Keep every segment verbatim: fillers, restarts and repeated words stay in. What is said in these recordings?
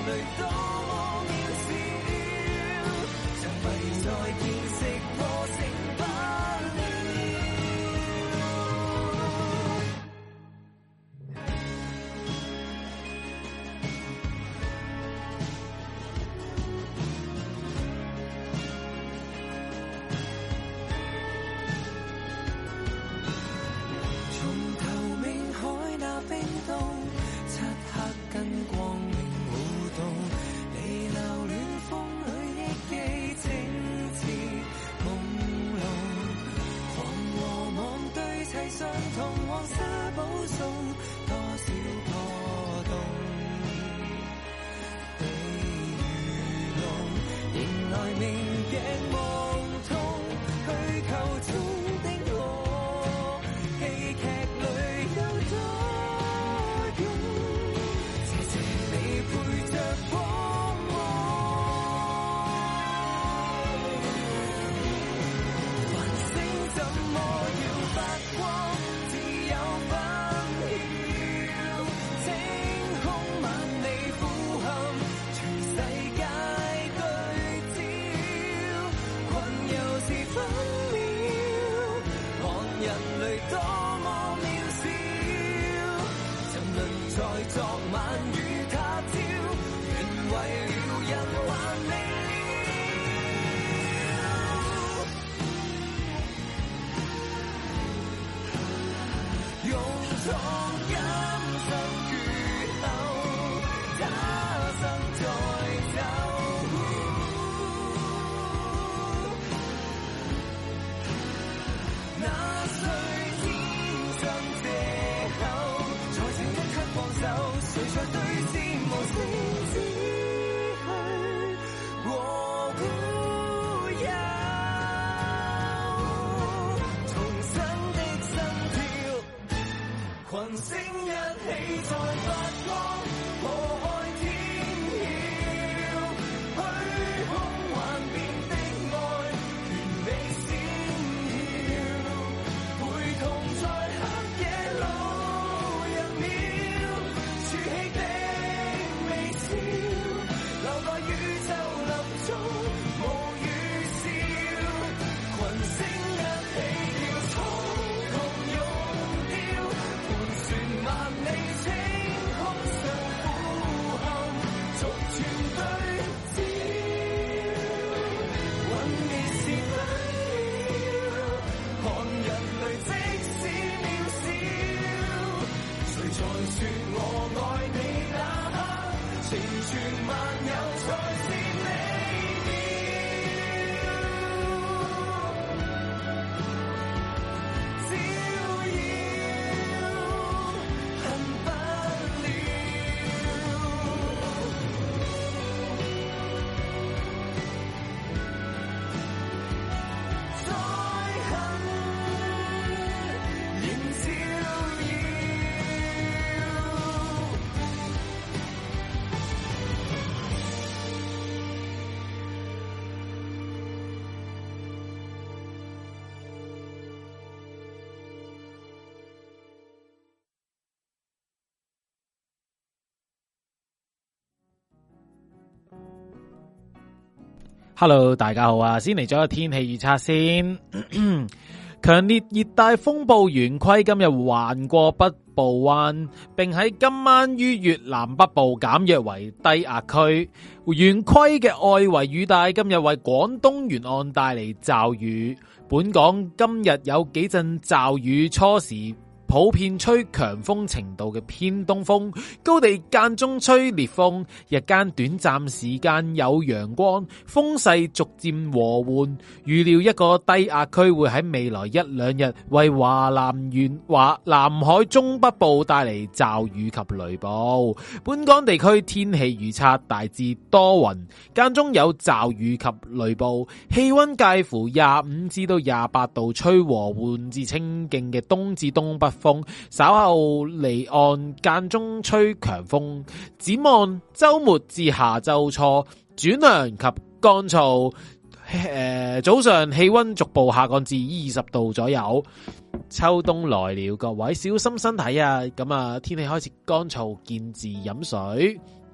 Hello， 大家好啊！先嚟咗個天氣預測先。強烈熱帶風暴圓規今日橫過北部灣，並喺今晚於越南北部減弱為低壓區。圓規嘅外圍雨帶今日為廣東沿岸帶嚟驟雨。本港今日有幾陣驟雨，初時普遍吹強風程度嘅偏東風，高地間中吹烈風，日間短暫時間有陽光，風勢逐漸和緩。預料一個低壓區會喺未來一兩日為華南沿華南海中北部帶嚟驟雨及雷暴。本港地區天氣預測大致多雲，間中有驟雨及雷暴，氣溫介乎廿五至到廿八度，吹和緩至清勁嘅東至東北風，稍後離岸間中吹強風。展望周末至下周初轉涼及乾燥，誒、呃、早上氣溫逐步下降至二十度左右。秋冬來了，各位小心身體啊！咁啊，天氣開始乾燥，見字飲水。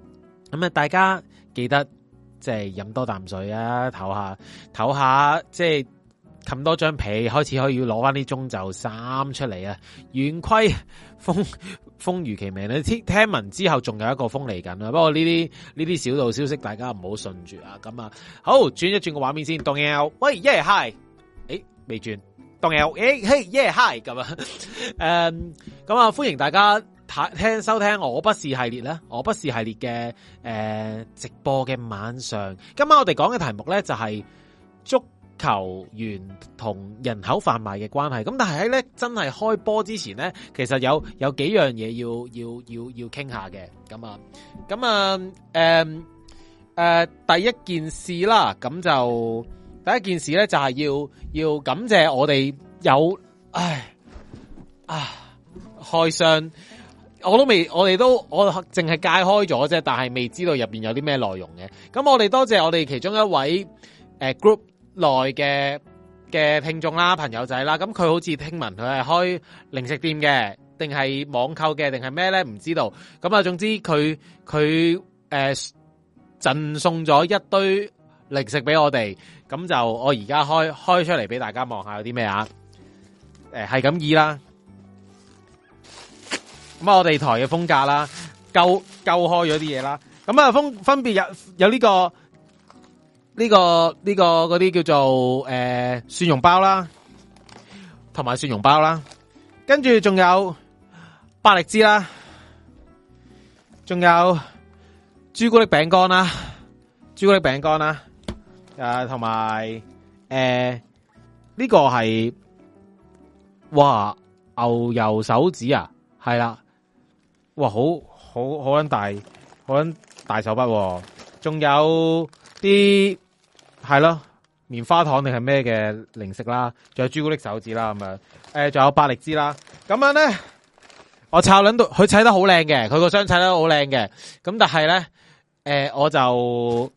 咁啊，大家記得即係飲多啖水啊，唞下唞下，即係冚多張被，開始可以攞翻啲中袖衫出嚟啊！圓規風風如其名，你聽聽聞之後仲有一個風嚟緊啊！不過呢啲呢啲小道消息，大家唔好信住啊！咁啊，好轉一轉個畫面先，當 L 喂耶 hi，誒未轉，當 L 誒嘿耶 hi 咁啊，誒咁啊，歡迎大家聽收聽我不是系列啦，我不是系列嘅誒、呃、直播嘅晚上，今晚我哋講嘅題目咧就係、是、足球員同人口販賣嘅關係。咁但係喺咧真係開波之前咧，其實有有幾樣嘢要要要要傾下嘅。咁啊，咁啊，誒、呃、誒、呃，第一件事啦，咁就第一件事咧就係、是、要要感謝我哋有，唉啊開箱。我都未，我哋都我淨係解開咗啫，但係未知道入邊有啲咩內容嘅。咁我哋多謝我哋其中一位誒、呃、group 內嘅嘅聽眾啦、朋友仔啦。咁佢好似聽聞佢係開零食店嘅，定係網購嘅，定係咩咧？唔知道。咁啊，總之佢佢誒贈送咗一堆零食俾我哋。咁就我而家開開出嚟俾大家望下有啲咩啊？誒係咁意啦。咁啊，我哋台嘅風格啦，勾勾開咗啲嘢啦。咁啊，分分別有有呢、這個呢、這個呢、這個嗰啲叫做誒、呃、蒜蓉包啦，同埋蒜蓉包啦。跟住仲有百力滋啦，仲有朱古力餅乾啦，朱古力餅乾啦。誒，同埋誒呢個係哇牛油手指啊，係啦。哇，好好好撚大，好撚大手筆、啊，仲有啲係咯棉花糖定係咩嘅零食啦，仲有朱古力手指啦咁樣，誒，仲有百力滋啦，咁樣咧，我抄捻到佢砌得好靚嘅，佢個箱砌得好靚嘅，咁但係咧，誒、呃，我就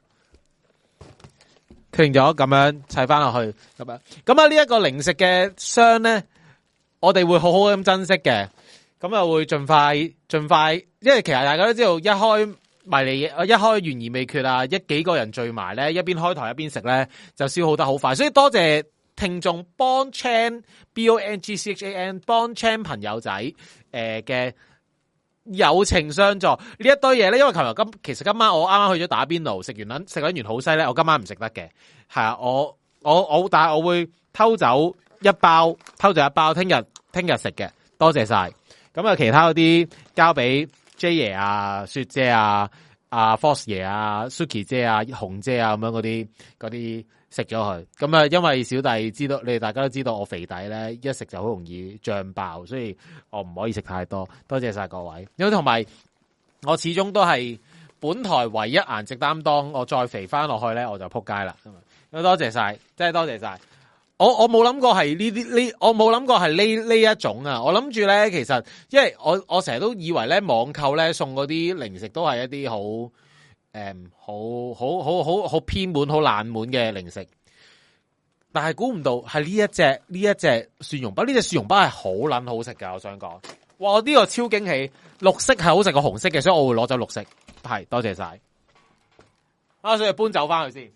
決定咗咁樣砌翻落去咁樣，咁啊呢一個零食嘅箱咧，我哋會好好咁珍惜嘅。咁啊，會盡快盡快，因為其實大家都知道，一開迷你嘢，一開懸而未決啊，一幾個人聚埋咧，一邊開台一邊食咧，就消耗得好快。所以多謝聽眾 Bon Chan B O N G C H A N Bon Chan 朋友仔誒嘅、呃、友情相助呢一堆嘢咧。因為琴日今其實今晚我啱啱去咗打邊爐，食完撚食緊完好西咧，我今晚唔食得嘅，係啊，我我我但係我會偷走一包，偷走一包，聽日聽日食嘅，多謝晒。咁啊，其他嗰啲交俾 J 爺啊、雪姐啊、阿 Fox 爺啊、Suki 姐啊、紅姐啊咁樣嗰啲嗰啲食咗佢。咁啊，因為小弟知道，你哋大家都知道我肥底咧，一食就好容易脹爆，所以我唔可以食太多。多謝晒各位。因為同埋我始終都係本台唯一顏值擔當，我再肥翻落去咧，我就撲街啦。咁多謝晒，真係多謝晒。我我冇諗過係呢啲呢，我冇諗過係呢呢一種啊！我諗住咧，其實因為我我成日都以為咧，網購咧送嗰啲零食都係一啲好誒好好好好好偏門、好冷門嘅零食，但係估唔到係呢一隻呢一隻蒜蓉包，呢隻蒜蓉包係好撚好食噶！我想講，哇！呢個超驚喜，綠色係好食過紅色嘅，所以我會攞走綠色。係，多謝晒。啊，所以搬走翻去先。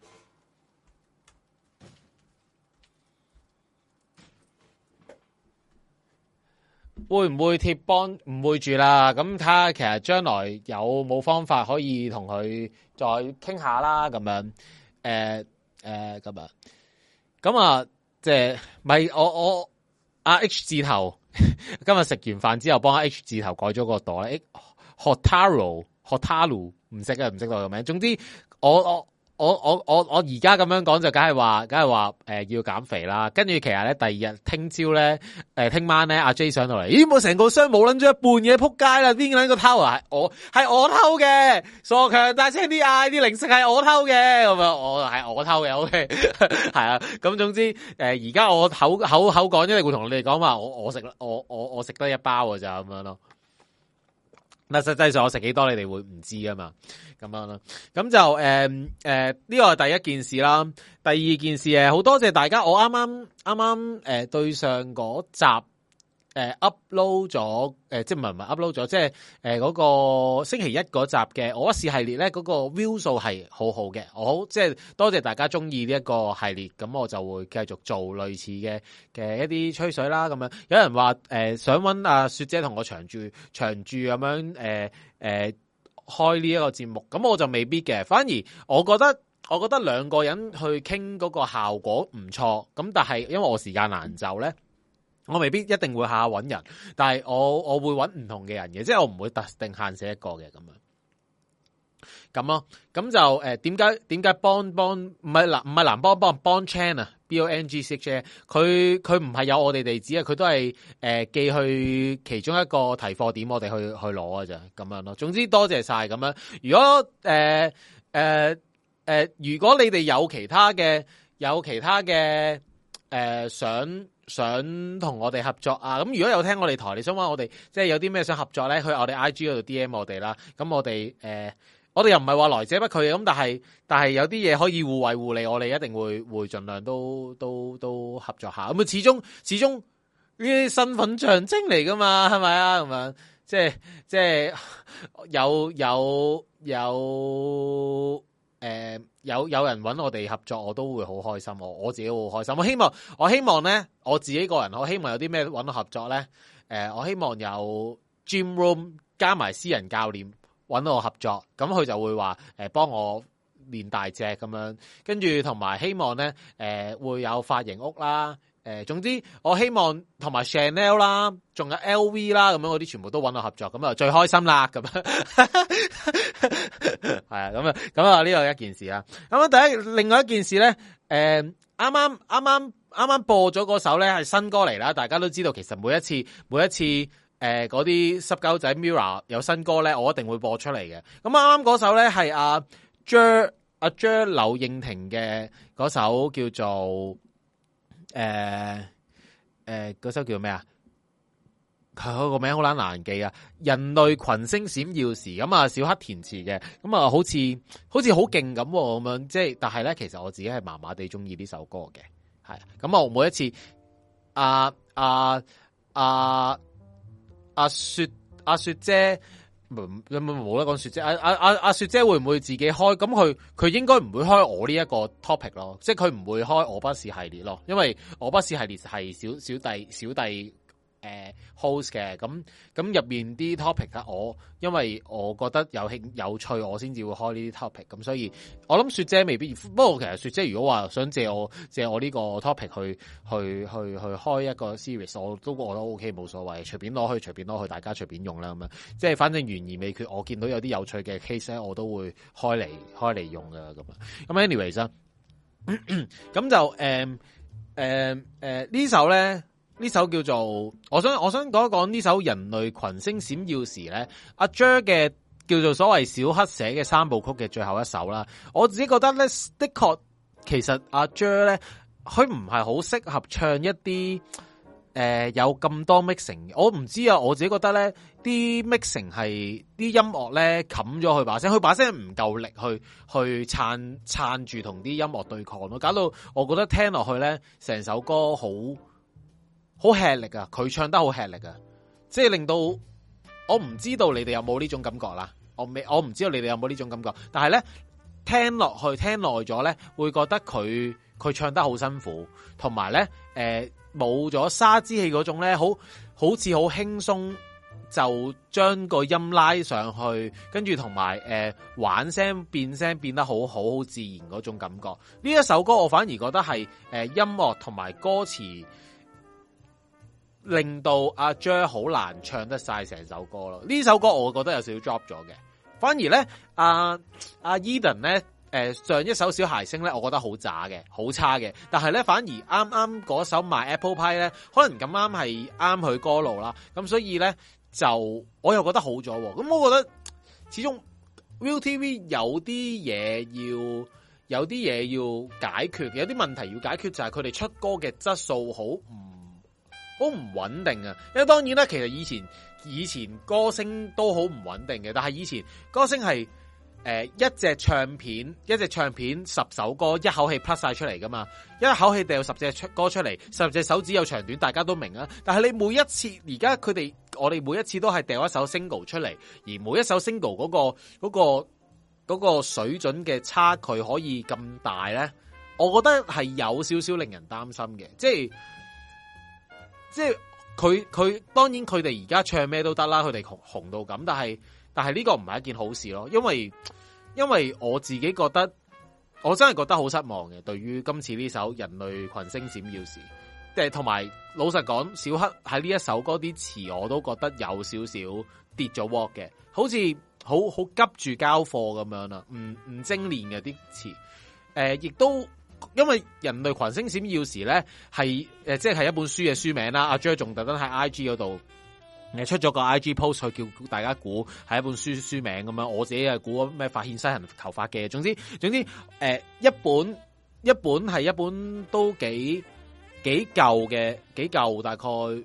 會唔會貼幫？唔會住啦。咁睇下，其實將來有冇方法可以同佢再傾下啦。咁樣，誒誒咁啊，咁啊，即係咪我我阿 H 字頭今日食完飯之後幫阿 H 字頭改咗個朵咧 Hotaro Hotaro 唔識啊，唔識到個名。總之我我。我我我我而家咁樣講就梗係話，梗係話誒要減肥啦。跟住其實咧，第二日聽朝咧，誒聽晚咧，阿 J 上到嚟，咦冇成個箱冇捻咗一半嘢，撲街啦！邊捻個偷啊？係我係我偷嘅，傻強大聲啲嗌，啲零食係我偷嘅，咁啊我係我偷嘅，OK 係啊。咁總之誒而家我口口口講，因為會同你哋講話，我我食我我我食得一包嘅咋咁樣咯。嗱，實際上我食幾多，你哋會唔知啊嘛？咁樣咯，咁就誒誒呢個係第一件事啦。第二件事誒，好多謝大家。我啱啱啱啱誒對上嗰集誒 upload 咗誒，即係唔係唔係 upload 咗，即係誒嗰個星期一嗰集嘅我不是系列咧，嗰、嗰個 view 數係好好嘅，我好即係多謝大家中意呢一個系列，咁我就會繼續做類似嘅嘅一啲吹水啦，咁樣有人話誒、呃、想搵阿雪姐同我長住長住咁樣誒誒、呃呃、開呢一個節目，咁我就未必嘅，反而我覺得我覺得兩個人去傾嗰個效果唔錯，咁但係因為我時間難就咧。我未必一定會下下揾人，但係我我會揾唔同嘅人嘅，即係我唔會特定限死一個嘅咁樣。咁咯，咁就誒點解點解幫幫唔係嗱唔係藍幫幫幫 Chan 啊 B O N G C H A 佢佢唔係有我哋地址啊，佢都係誒、呃、寄去其中一個提貨點，我哋去去攞嘅咋咁樣咯。總之多謝晒咁樣。如果誒誒誒，如果你哋有其他嘅有其他嘅誒、呃、想。想同我哋合作啊！咁如果有聽我哋台，你想話我哋即係有啲咩想合作咧，去我哋 I G 嗰度 D M 我哋啦。咁我哋誒、呃，我哋又唔係話來者不拒嘅，咁但係但係有啲嘢可以互惠互利，我哋一定會會盡量都都都合作下。咁啊，始終始終呢啲身份象徵嚟噶嘛，係咪啊？咁樣即係即係有有有。誒、呃，有有人揾我哋合作，我都會好開心。我我自己會好開心。我希望，我希望咧，我自己個人，我希望有啲咩揾我合作咧。誒、呃，我希望有 gym room 加埋私人教練揾我合作，咁佢就會話誒幫我練大隻咁樣，跟住同埋希望咧誒、呃、會有髮型屋啦。誒、呃，總之我希望同埋 Chanel 啦，仲有 L V 啦，咁樣嗰啲全部都揾我合作，咁啊最開心啦，咁樣係啊，咁啊，咁啊呢個一件事啦。咁啊，第一另外一件事咧，誒、呃，啱啱啱啱啱啱播咗嗰首咧係新歌嚟啦，大家都知道，其實每一次每一次誒嗰啲濕鳩仔 Mirror 有新歌咧，我一定會播出嚟嘅。咁啱啱嗰首咧係阿 Jer 阿 Jer 柳應廷嘅嗰首叫做。誒、呃、誒，嗰、呃、首叫咩啊？佢個名好難難記啊！人類群星閃耀時，咁啊，小黑填詞嘅，咁啊，好似好似好勁咁咁樣，即係，但係咧，其實我自己係麻麻地中意呢首歌嘅，係咁我每一次，阿阿阿阿雪阿、啊、雪姐。有冇冇得講雪姐？阿阿阿阿雪姐會唔會自己開？咁佢佢應該唔會開我呢一個 topic 咯，即係佢唔會開我不是系列咯，因為我不是系列係小小弟小弟誒 host 嘅，咁咁入面啲 topic 啊，我因為我覺得有興有趣，我先至會開呢啲 topic，咁所以我諗雪姐未必。不過其實雪姐如果話想借我借我呢個 topic 去去去去開一個 series，我都我都 OK 冇所謂，隨便攞去隨便攞去，大家隨便用啦咁樣。即係反正懸而未決，我見到有啲有趣嘅 case 咧，我都會開嚟開嚟用噶咁啊。咁 anyways 啊，咁就誒誒誒呢首咧。呢首叫做，我想我想講一講呢首人類群星閃耀時咧，阿 Jer 嘅叫做所謂小黑寫嘅三部曲嘅最後一首啦。我自己覺得咧，的確其實阿 Jer 咧，佢唔係好適合唱一啲誒、呃、有咁多 mixing。我唔知啊，我自己覺得咧，啲 mixing 係啲音樂咧冚咗佢把聲，佢把聲唔夠力去去撐撐住同啲音樂對抗咯，搞到我覺得聽落去咧，成首歌好。好吃力啊！佢唱得好吃力啊！即係令到我唔知道你哋有冇呢種感覺啦。我未，我唔知道你哋有冇呢種感覺。但係咧，聽落去聽耐咗咧，會覺得佢佢唱得好辛苦，同埋咧誒冇咗沙之氣嗰種咧，好好似好輕鬆就將個音拉上去，跟住同埋誒玩聲變聲變得好好好自然嗰種感覺。呢一首歌我反而覺得係誒、呃、音樂同埋歌詞。令到阿 Jer 好難唱得晒成首歌咯，呢首歌我覺得有少少 drop 咗嘅，反而咧阿阿 Eden 咧，誒、呃、上一首小孩聲咧，我覺得好渣嘅，好差嘅，但係咧反而啱啱嗰首 My Apple Pie 咧，可能咁啱係啱佢歌路啦，咁所以咧就我又覺得好咗，咁我覺得始終 ViuTV 有啲嘢要有啲嘢要解決，有啲問題要解決，就係佢哋出歌嘅質素好唔。好唔穩定啊！因為當然啦，其實以前以前歌星都好唔穩定嘅，但係以前歌星係誒一隻唱片，一隻唱片十首歌一口氣 plus 晒出嚟噶嘛，一口氣掉十隻出歌出嚟，十隻手指有長短，大家都明啊。但係你每一次而家佢哋，我哋每一次都係掉一首 single 出嚟，而每一首 single 嗰個嗰個嗰個水準嘅差距可以咁大咧，我覺得係有少少令人擔心嘅，即係即係佢佢當然佢哋而家唱咩都得啦，佢哋紅紅到咁，但係但係呢個唔係一件好事咯，因為因為我自己覺得我真係覺得好失望嘅，對於今次呢首《人類群星閃耀時》，即係同埋老實講，小黑喺呢一首歌啲詞我都覺得有少少跌咗鑊嘅，好似好好急住交貨咁樣啦，唔唔精煉嘅啲詞，誒、呃，亦都。因為人類群星閃耀時咧係誒即係一本書嘅書名啦，阿 Jer 仲特登喺 I G 嗰度誒出咗個 I G post 去叫大家估係一本書書名咁樣，我自己係估咩發現西人頭髮嘅，總之總之誒、呃、一本一本係一本都幾幾舊嘅幾舊，大概誒、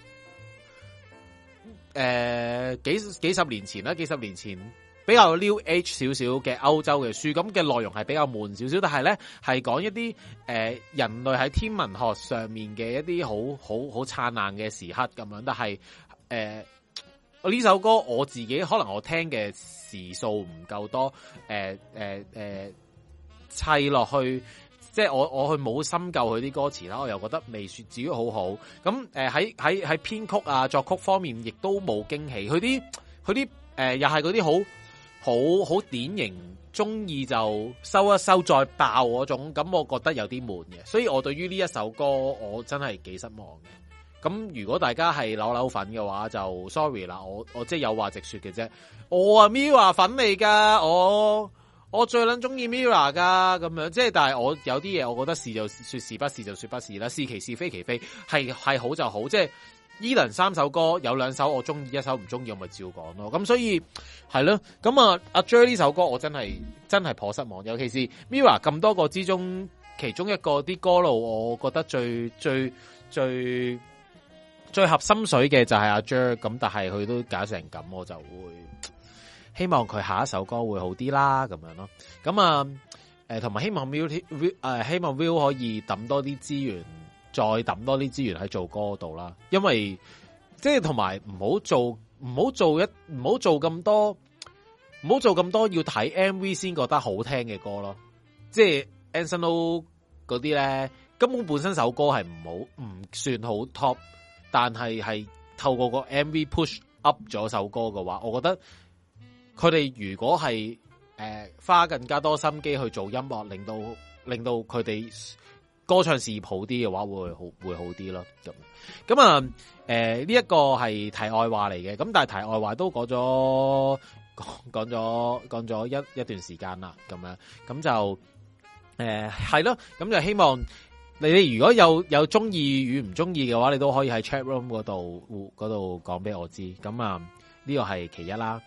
呃、幾幾十年前啦，幾十年前。比較 New Age 少少嘅歐洲嘅書，咁嘅內容係比較悶少少，但係咧係講一啲誒、呃、人類喺天文學上面嘅一啲好好好燦爛嘅時刻咁樣，但係誒我呢首歌我自己可能我聽嘅時數唔夠多，誒誒誒砌落去，即係我我去冇深究佢啲歌詞啦，我又覺得未說至於好好，咁誒喺喺喺編曲啊作曲方面亦都冇驚喜，佢啲佢啲誒又係嗰啲好。好好典型，中意就收一收再爆嗰種，咁我覺得有啲悶嘅，所以我對於呢一首歌我真係幾失望嘅。咁如果大家係扭扭粉嘅話，就 sorry 啦，我我即係有話直說嘅啫。我啊 Mirror 粉嚟噶，我我最捻中意 Mirror 噶，咁樣即係，但係我有啲嘢，我覺得是就說是，不是就說不是啦，是其是非其非，係係好就好，即係。Eden 三首歌有兩首我中意，一首唔中意，我咪照講咯。咁所以係咯，咁啊阿 Jer 呢首歌我真係真係頗失望，尤其是 Mirror 咁多個之中，其中一個啲歌路，我覺得最最最最合心水嘅就係阿 Jer，咁但係佢都搞成咁，我就會希望佢下一首歌會好啲啦，咁樣咯。咁啊誒，同埋希望 Will 誒、呃，希望 Will 可以抌多啲資源。再抌多啲資源喺做歌度啦，因為即係同埋唔好做唔好做一唔好做咁多唔好做咁多要睇 M V 先覺得好聽嘅歌咯，即係 Anson Lo 嗰啲咧根本本身首歌係唔好唔算好 top， 但係係透過個 M V push up 咗首歌嘅話，我覺得佢哋如果係誒、呃、花更加多心機去做音樂，令到令到佢哋。歌唱事業好啲嘅話，會好會好啲咯。咁咁啊，誒呢一個係題外話嚟嘅。咁但係題外話都講咗講講咗講咗一一段時間啦。咁樣咁就誒係咯。咁、呃、就希望你哋如果有有中意與唔中意嘅話，你都可以喺 chat room 嗰度嗰度講俾我知。咁啊呢個係其一啦。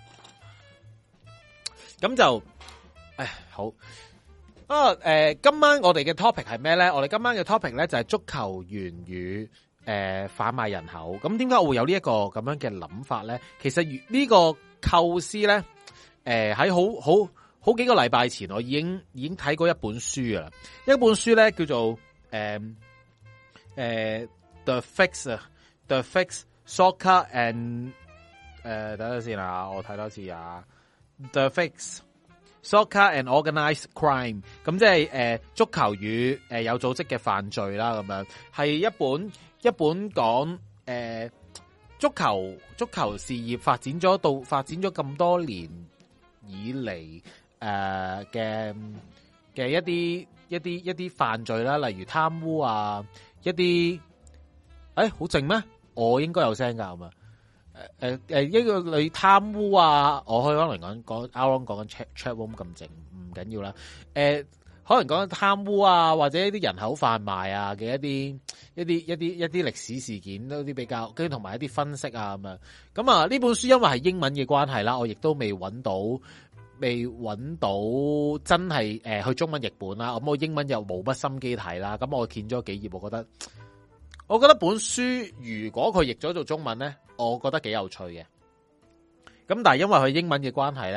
咁就誒好。啊，誒、呃，今晚我哋嘅 topic 係咩咧？我哋今晚嘅 topic 咧就係、是、足球員與誒販賣人口。咁點解我會有呢一個咁樣嘅諗法咧？其實呢個構思咧，誒喺好好好幾個禮拜前，我已經已經睇過一本書啦。一本書咧叫做誒誒、呃呃、The Fix 啊，The Fix Soccer and 誒、呃，等陣先啊，我睇多次啊 The Fix。Soccer and Organized Crime， 咁即係誒足球與誒有組織嘅犯罪啦，咁樣係一本一本講誒、呃、足球足球事業發展咗到發展咗咁多年以嚟誒嘅嘅一啲一啲一啲犯罪啦，例如貪污啊，一啲誒好靜咩？我應該有聲噶，係嘛？誒誒誒，一個你貪污啊，我可以可能講講啱啱講緊 chat chat room 咁靜，唔緊要啦。誒、呃，可能講緊貪污啊，或者一啲人口販賣啊嘅一啲一啲一啲一啲歷史事件，都啲比較跟住同埋一啲分析啊咁樣。咁啊，呢本書因為係英文嘅關係啦，我亦都未揾到，未揾到真係誒、呃、去中文譯本啦。咁我英文又冇乜心機睇啦。咁我見咗幾頁，我覺得。我覺得本書如果佢譯咗做中文咧，我覺得幾有趣嘅。咁但係因為佢英文嘅關係咧，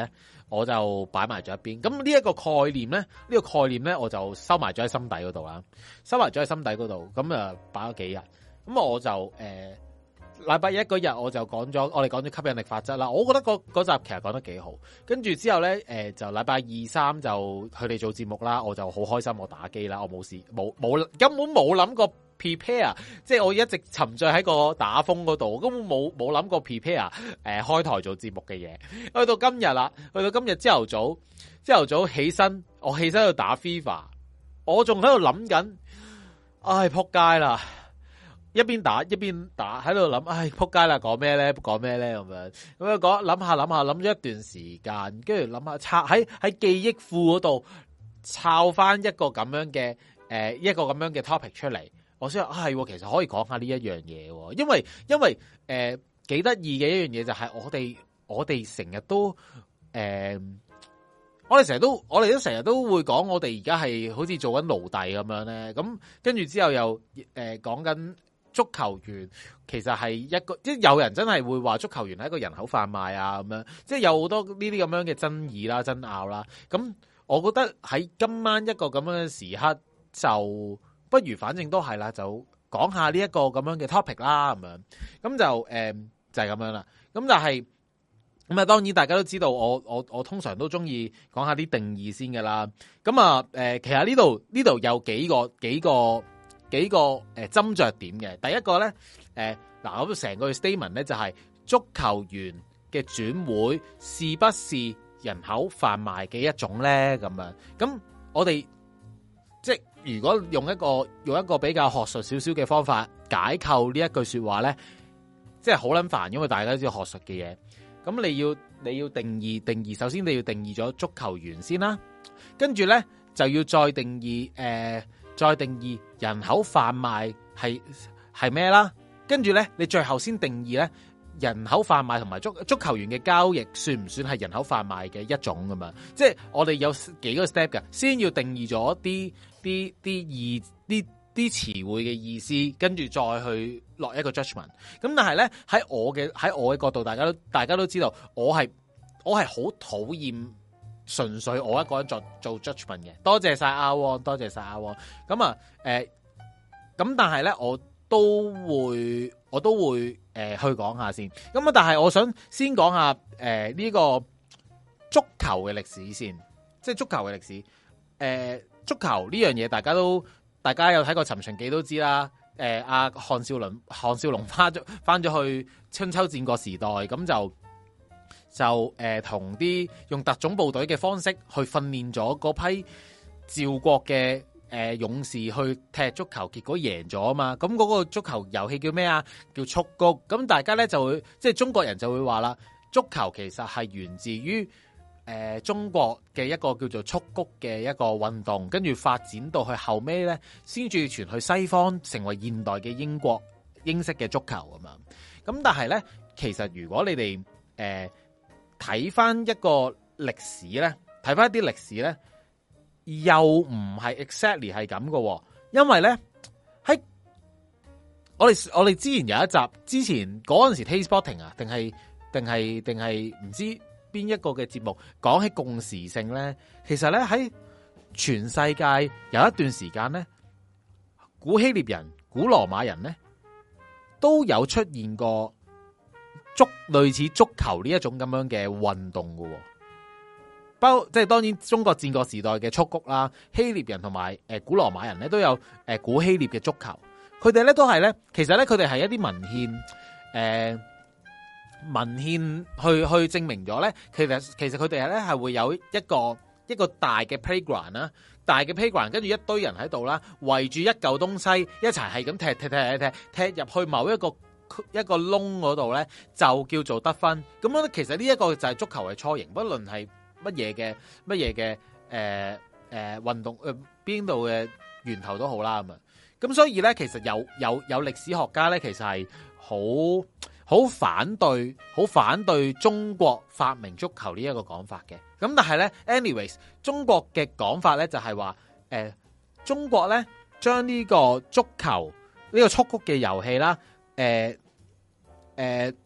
我就擺埋咗一邊。咁呢一個概念咧，呢、呢個概念咧，我就收埋咗喺心底嗰度啦，收埋咗喺心底嗰度。咁啊，擺咗幾日。咁我就誒禮拜一嗰日我就講咗，我哋講咗吸引力法則啦。我覺得嗰嗰集其實講得幾好。跟住之後咧，誒、呃、就禮拜二三就佢哋做節目啦，我就好開心，我打機啦，我冇事，冇冇根本冇諗過 prepare， 即係我一直沉醉喺個打風嗰度，根本冇冇諗過 prepare 誒、呃、開台做節目嘅嘢。去到今日啦，去到今日朝頭早，朝頭早起身，我起身喺度打 FIFA， 我仲喺度諗緊，唉撲街啦！一邊打一邊打喺度諗，唉撲街啦！講咩咧？講咩咧？咁樣咁樣講，諗下諗下諗咗一段時間，跟住諗下抄喺喺記憶庫嗰度抄翻一個咁樣嘅誒、呃、一個咁樣嘅 topic 出嚟。我先話係，其實可以講下呢一樣嘢，因為因為誒幾得意嘅一樣嘢就係我哋我哋成日都誒、呃、我哋成日都我哋都成日都會講我哋而家係好似做緊奴隸咁樣咧。咁跟住之後又誒講緊。足球員其實係一個，即係有人真係會話足球員係一個人口販賣啊咁樣，即係有好多呢啲咁樣嘅爭議啦、爭拗啦。咁我覺得喺今晚一個咁樣嘅時刻，就不如反正都係啦，就講下呢一個咁樣嘅 topic 啦咁樣。咁就誒、呃、就係、是、咁樣啦。咁但係咁啊，當然大家都知道我我我通常都中意講下啲定義先㗎啦。咁啊誒，其實呢度呢度有幾個幾個。幾個誒斟酌點嘅，第一個咧誒嗱，咁成個 statement 咧就係足球員嘅轉會是不是人口販賣嘅一種咧？咁樣咁我哋即係如果用一個用一個比較學術少少嘅方法解構呢一句說話咧，即係好撚煩，因為大家都知道學術嘅嘢。咁你要你要定義定義，首先你要定義咗足球員先啦，跟住咧就要再定義誒。呃再定義人口販賣係係咩啦？跟住咧，你最後先定義咧人口販賣同埋足足球員嘅交易算唔算係人口販賣嘅一種咁嘛？即係我哋有幾個 step 嘅，先要定義咗啲啲啲意啲啲詞彙嘅意思，跟住再去落一個 judgment。咁但係咧喺我嘅喺我嘅角度，大家都大家都知道，我係我係好討厭。純粹我一個人做做 judgment 嘅，多謝晒阿旺，多謝晒阿旺。咁啊，誒、呃，咁但係咧，我都會，我都會誒、呃、去講下先。咁啊，但係我想先講下誒呢、呃這個足球嘅歷史先，即係足球嘅歷史。誒、呃，足球呢樣嘢，大家都大家有睇過《尋秦記》都知啦。誒、呃，阿項少龍，項少龍翻咗翻咗去春秋戰國時代，咁就。就誒同啲用特種部隊嘅方式去訓練咗嗰批趙國嘅誒、呃、勇士去踢足球，結果贏咗啊嘛！咁嗰個足球遊戲叫咩啊？叫蹴鞠。咁大家咧就會即係中國人就會話啦，足球其實係源自於誒、呃、中國嘅一個叫做蹴鞠嘅一個運動，跟住發展到去後尾咧，先至傳去西方，成為現代嘅英國英式嘅足球啊嘛！咁但係咧，其實如果你哋誒，呃睇翻一個歷史咧，睇翻一啲歷史咧，又唔係 exactly 係咁嘅，因為咧喺我哋我哋之前有一集，之前嗰陣時 TasteSpotting 啊，定係定係定係唔知邊一個嘅節目講起共時性咧，其實咧喺全世界有一段時間咧，古希臘人、古羅馬人咧都有出現過。足類似足球呢一種咁樣嘅運動嘅，包即係當然中國戰國時代嘅蹴鞠啦，希臘人同埋誒古羅馬人咧都有誒古希臘嘅足球，佢哋咧都係咧，其實咧佢哋係一啲文獻誒、呃、文獻去去證明咗咧，其實其實佢哋咧係會有一個一個大嘅 playground 啦，大嘅 playground， 跟住一堆人喺度啦，圍住一嚿東西一齊係咁踢踢踢踢踢踢入去某一個。一個窿嗰度咧就叫做得分，咁樣其實呢一個就係足球嘅雛形，不論係乜嘢嘅乜嘢嘅誒誒運動誒邊度嘅源頭都好啦咁啊，咁所以咧其實有有有歷史學家咧其實係好好反對好反對中國發明足球呢一個講法嘅，咁但係咧 anyways 中國嘅講法咧就係話誒中國咧將呢個足球呢個蹴鞠嘅遊戲啦。誒誒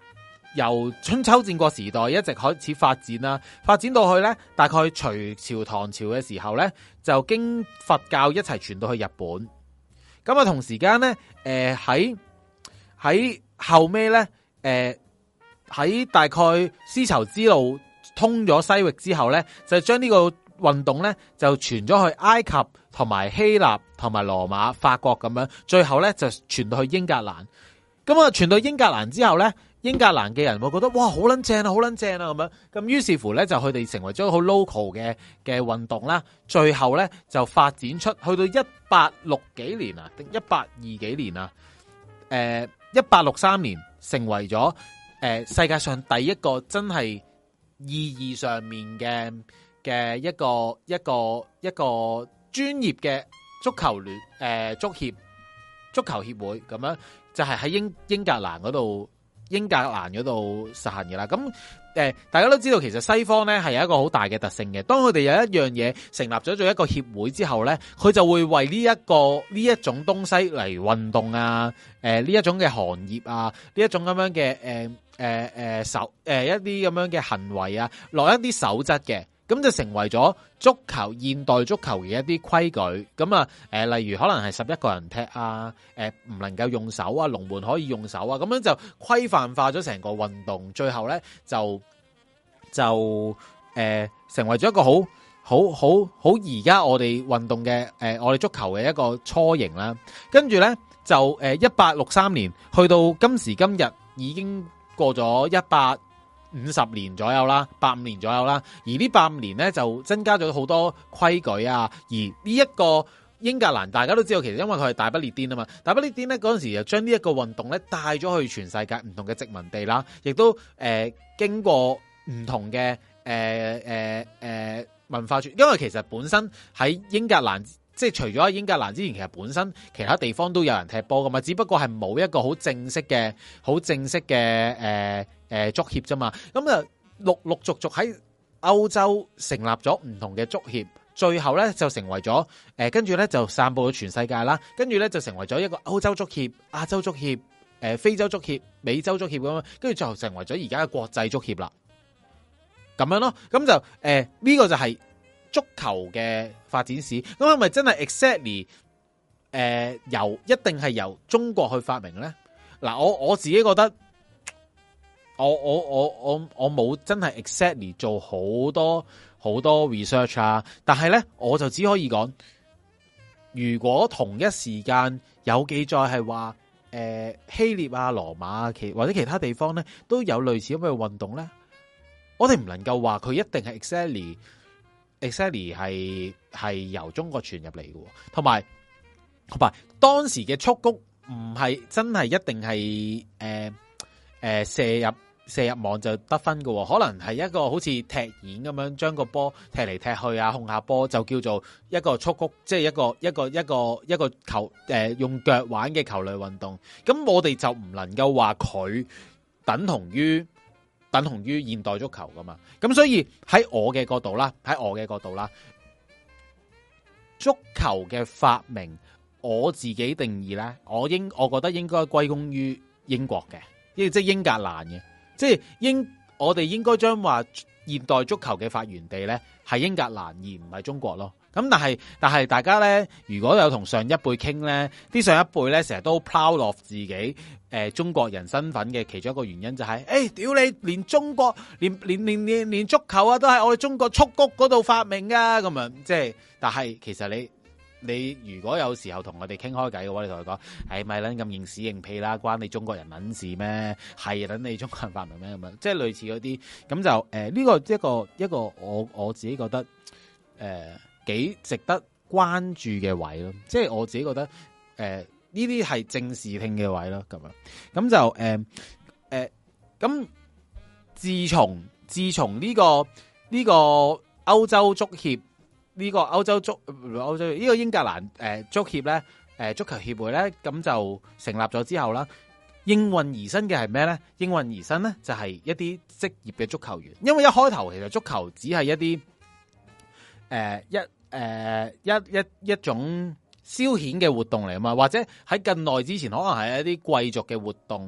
由春秋戰國時代一直開始發展啦，發展到去咧大概隋朝唐朝嘅時候咧，就經佛教一齊傳到去日本。咁啊，同時間咧，誒喺喺後尾咧，誒、呃、喺大概絲綢之路通咗西域之後咧，就將呢個運動咧就傳咗去埃及同埋希臘同埋羅馬、法國咁樣，最後咧就傳到去英格蘭。咁啊，傳到英格蘭之後咧，英格蘭嘅人會覺得哇，好撚正啊，好撚正啊咁樣。咁於是乎咧，就佢哋成為咗好 local 嘅嘅運動啦。最後咧就發展出去到一八六幾年啊，定一八二幾年啊？誒，一八六三年成為咗誒、呃、世界上第一個真係意義上面嘅嘅一個一個一個專業嘅足球聯誒、呃、足協足球協會咁樣，就係喺英英格蘭嗰度英格蘭嗰度實行嘅啦。咁誒、呃，大家都知道其實西方咧係有一個好大嘅特性嘅。當佢哋有一樣嘢成立咗做一個協會之後咧，佢就會為呢、這、一個呢一種東西嚟運動啊，誒呢一種嘅行業啊，呢一種咁樣嘅誒誒誒守誒一啲咁樣嘅行為啊，落一啲守則嘅。咁就成為咗足球現代足球嘅一啲規矩，咁啊，誒，例如可能係十一個人踢啊，誒，唔能夠用手啊，龍門可以用手啊，咁樣就規範化咗成個運動，最後咧就就誒、呃、成為咗一個好好好好而家我哋運動嘅誒、呃，我哋足球嘅一個雛形啦。跟住咧就誒一八六三年去到今時今日已經過咗一百五十年左右啦，百五年左右啦，而呢百五年咧就增加咗好多規矩啊，而呢一個英格蘭大家都知道，其實因為佢係大不列顛啊嘛，大不列顛咧嗰陣時就將呢一個運動咧帶咗去全世界唔同嘅殖民地啦，亦都誒、呃、經過唔同嘅誒誒誒文化傳，因為其實本身喺英格蘭。即係除咗喺英格蘭之前，其實本身其他地方都有人踢波噶嘛，只不過係冇一個好正式嘅、好正式嘅誒誒足協啫嘛。咁啊，陸陸續續喺歐洲成立咗唔同嘅足協，最後咧就成為咗誒，跟住咧就散佈咗全世界啦。跟住咧就成為咗一個歐洲足協、亞洲足協、誒、呃、非洲足協、美洲足協咁樣，跟住最後成為咗而家嘅國際足協啦。咁樣咯，咁就誒呢、呃這個就係、是。足球嘅發展史，咁係咪真係 exactly 誒、呃、由一定係由中國去發明咧？嗱，我我自己覺得，我我我我我冇真係 exactly 做好多好多 research 啊，但係咧我就只可以講，如果同一時間有記載係話誒希臘啊、羅馬啊其或者其他地方咧都有類似咁嘅運動咧，我哋唔能夠話佢一定係 exactly。exactly 係係由中國傳入嚟嘅，同埋同埋當時嘅蹴鞠唔係真係一定係誒誒射入射入網就得分嘅，可能係一個好似踢毽咁樣將個波踢嚟踢去啊，控下波就叫做一個蹴鞠，即係一個一個一個一個球誒、呃、用腳玩嘅球類運動。咁我哋就唔能夠話佢等同於。等同於現代足球噶嘛，咁所以喺我嘅角度啦，喺我嘅角度啦，足球嘅發明，我自己定義咧，我應我覺得應該歸功於英國嘅，即係英格蘭嘅，即係英，我哋應該將話現代足球嘅發源地咧係英格蘭而唔係中國咯。咁但係但係大家咧，如果有同上一輩傾咧，啲上一輩咧成日都 proud of 自己誒、呃、中國人身份嘅其中一個原因就係、是，誒、欸、屌你連中國連連連連連足球啊都係我哋中國蹴鞠嗰度發明噶咁樣，即係但係其實你你如果有時候同我哋傾開偈嘅話，你同佢講，係咪撚咁認屎認屁啦？關你中國人撚事咩？係撚你中國人發明咩咁樣？即係類似嗰啲咁就誒呢、呃這個一個一個我我自己覺得誒。呃幾值得關注嘅位咯，即係我自己覺得，誒呢啲係正視聽嘅位咯，咁樣咁就誒誒咁自從自從呢個呢個歐洲足協呢個歐洲足歐洲呢個英格蘭誒足協咧誒足球協會咧，咁就成立咗之後啦，應運而生嘅係咩咧？應運而生咧就係一啲職業嘅足球員，因為一開頭其實足球只係一啲。誒、呃、一誒、呃、一一一種消遣嘅活動嚟啊嘛，或者喺近代之前可能係一啲貴族嘅活動，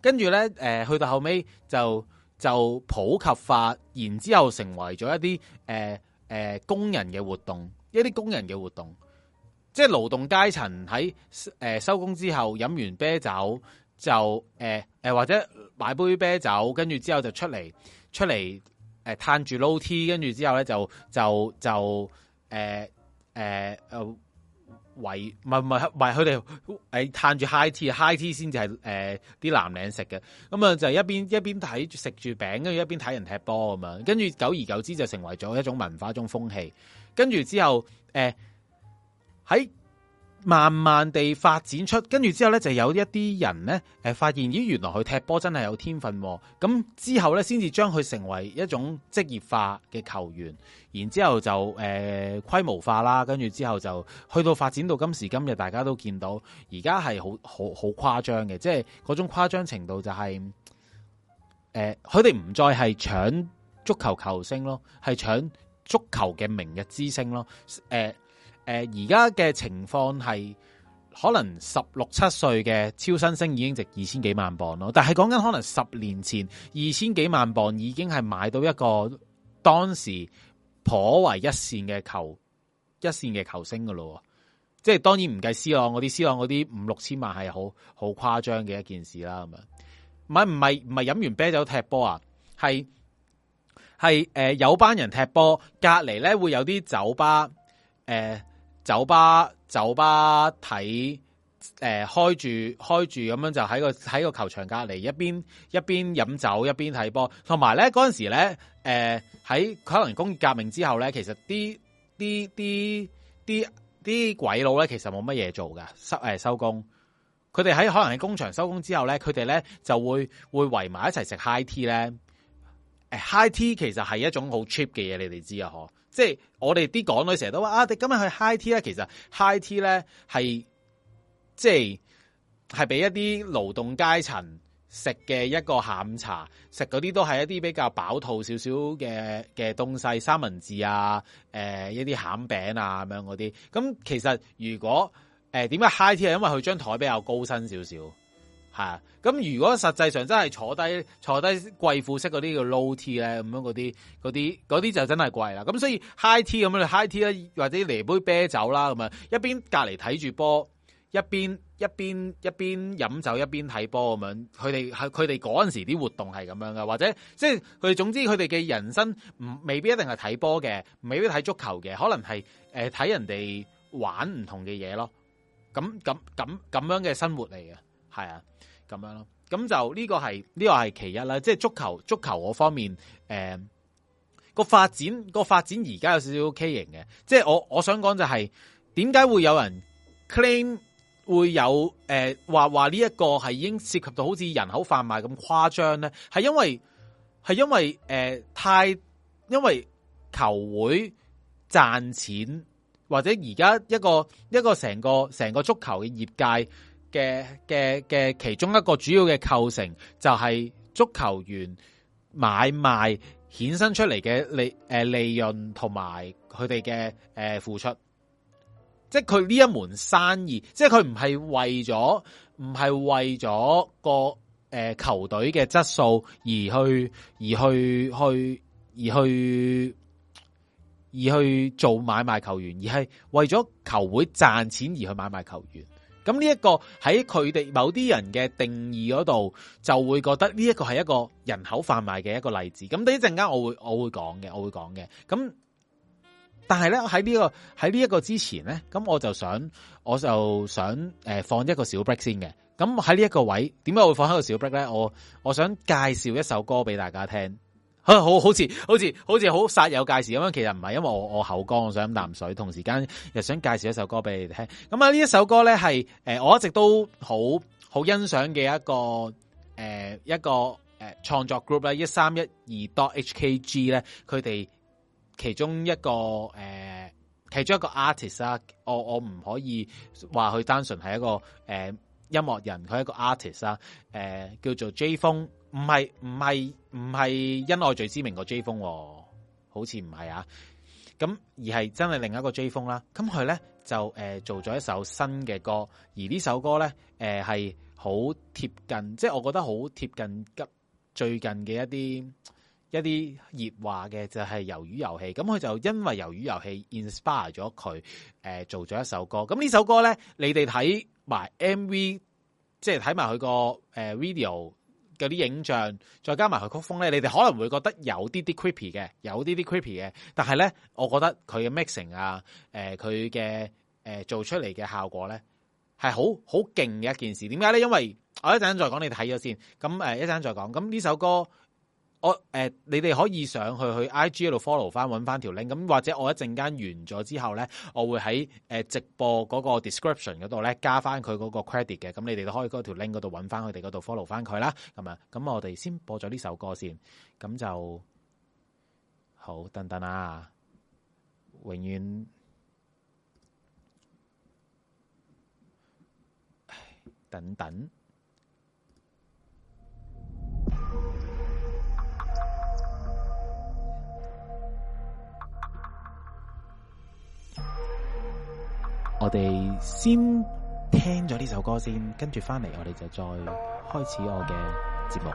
跟住咧誒去到後尾就就普及化，然之後成為咗一啲誒誒工人嘅活動，一啲工人嘅活動，即係勞動階層喺誒收工之後飲完啤酒就誒誒、呃、或者買杯啤酒，跟住之後就出嚟出嚟誒嘆住撈 T， 跟住之後咧就就就誒誒誒圍唔係唔係唔係佢哋誒嘆住 high tea，high tea 先至係誒啲藍領食嘅，咁啊就一邊一邊睇住食住餅，跟住一邊睇人踢波咁樣，跟住久而久之就成為咗一種文化，一種風氣，跟住之後誒喺。呃慢慢地發展出，跟住之後咧就有一啲人咧，誒發現咦原來佢踢波真係有天分，咁之後咧先至將佢成為一種職業化嘅球員，然之後就誒、呃、規模化啦，跟住之後就去到發展到今時今日，大家都見到而家係好好好誇張嘅，即係嗰種誇張程度就係誒佢哋唔再係搶足球球星咯，係搶足球嘅明日之星咯，誒、呃。誒而家嘅情況係可能十六七歲嘅超新星已經值二千幾萬磅咯，但係講緊可能十年前二千幾萬磅已經係買到一個當時頗為一線嘅球一線嘅球星噶咯，即係當然唔計 C 朗嗰啲 C 朗嗰啲五六千萬係好好誇張嘅一件事啦，咁樣唔係唔係唔係飲完啤酒踢波啊，係係誒有班人踢波，隔離咧會有啲酒吧誒。呃酒吧酒吧睇誒、呃、開住開住咁樣就喺個喺個球場隔離一邊一邊飲酒一邊睇波，同埋咧嗰陣時咧誒喺可能工業革命之後咧，其實啲啲啲啲啲鬼佬咧其實冇乜嘢做噶，收誒收工，佢哋喺可能喺工場收工之後咧，佢哋咧就會會圍埋一齊食 high tea 咧，誒 high tea 其實係一種好 cheap 嘅嘢，你哋知啊嗬？即係我哋啲港女成日都話啊，你今日去 high tea 咧，其實 high tea 咧係即係係俾一啲勞動階層食嘅一個下午茶，食嗰啲都係一啲比較飽肚少少嘅嘅東西，三文治啊，誒、呃、一啲餡餅啊咁樣嗰啲。咁其實如果誒點解 high tea 係因為佢張台比較高身少少。係啊，咁如果實際上真係坐低坐低貴婦式嗰啲叫 low tea 咧，咁樣嗰啲嗰啲嗰啲就真係貴啦。咁所以 high tea 咁樣 high tea 咧，或者嚟杯啤酒啦，咁啊一邊隔離睇住波，一邊一邊一邊飲酒一邊睇波咁樣。佢哋係佢哋嗰陣時啲活動係咁樣噶，或者即係佢哋總之佢哋嘅人生唔未必一定係睇波嘅，未必睇足球嘅，可能係誒睇人哋玩唔同嘅嘢咯。咁咁咁咁樣嘅生活嚟嘅，係啊。咁樣咯，咁就呢個係呢、這個係其一啦，即係足球足球嗰方面，誒、呃、個發展個發展而家有少少畸形嘅，即係我我想講就係點解會有人 claim 會有誒話話呢一個係已經涉及到好似人口販賣咁誇張咧？係因為係因為誒、呃、太因為球會賺錢，或者而家一個一個成個成個足球嘅業界。嘅嘅嘅其中一個主要嘅構成就係足球員買賣衍生出嚟嘅利誒利潤同埋佢哋嘅誒付出，即係佢呢一門生意，即係佢唔係為咗唔係為咗個誒、呃、球隊嘅質素而去而去去而去而去做買賣球員，而係為咗球會賺錢而去買賣球員。咁呢一個喺佢哋某啲人嘅定義嗰度，就會覺得呢一個係一個人口販賣嘅一個例子。咁等一陣間我會我會講嘅，我會講嘅。咁但係咧喺呢個喺呢一個之前咧，咁我就想我就想誒、呃、放一個小 break 先嘅。咁喺呢一個位，點解會放喺個小 break 咧？我我想介紹一首歌俾大家聽。好好好似好似好似好煞有介事咁樣，其實唔係，因為我我口乾，我想飲啖水，同時間又想介紹一首歌俾你哋聽。咁啊，呢一首歌咧係誒我一直都好好欣賞嘅一個誒、呃、一個誒創、呃、作 group 咧，一三一二 dot H K G 咧，佢哋其中一個誒、呃、其中一個 artist 啦，我我唔可以話佢單純係一個誒、呃、音樂人，佢係一個 artist 啦，誒、呃、叫做 J 風。唔係唔係唔係因愛最知名個 J 風，好似唔係啊。 咁而係真係另一個追風啦。咁佢咧就誒、呃、做咗一首新嘅歌，而呢首歌咧誒係好貼近，即係我覺得好貼近急最近嘅一啲一啲熱話嘅就係魷魚遊戲。咁佢就因為魷魚遊戲 inspire 咗佢誒做咗一首歌。咁呢首歌咧，你哋睇埋 M V， 即係睇埋佢個誒 video。嗰啲影像，再加埋佢曲風咧，你哋可能會覺得有啲啲 creepy 嘅，有啲啲 creepy 嘅。但係咧，我覺得佢嘅 mixing 啊，誒佢嘅誒做出嚟嘅效果咧，係好好勁嘅一件事。點解咧？因為我一陣再講，你睇咗先。咁誒一陣再講。咁呢首歌，我誒、呃、你哋可以上去去 I G 度 follow 翻，揾翻條 link。咁或者我一陣間完咗之後咧，我會喺誒直播嗰個 description 嗰度咧加翻佢嗰個 credit 嘅。咁你哋都可以嗰條 link 嗰度揾翻佢哋嗰度 follow 翻佢啦。咁啊，咁我哋先播咗呢首歌先。咁就好，等等啊，永遠等等。我哋先聽咗呢首歌先，跟住翻嚟我哋就再開始我嘅節目。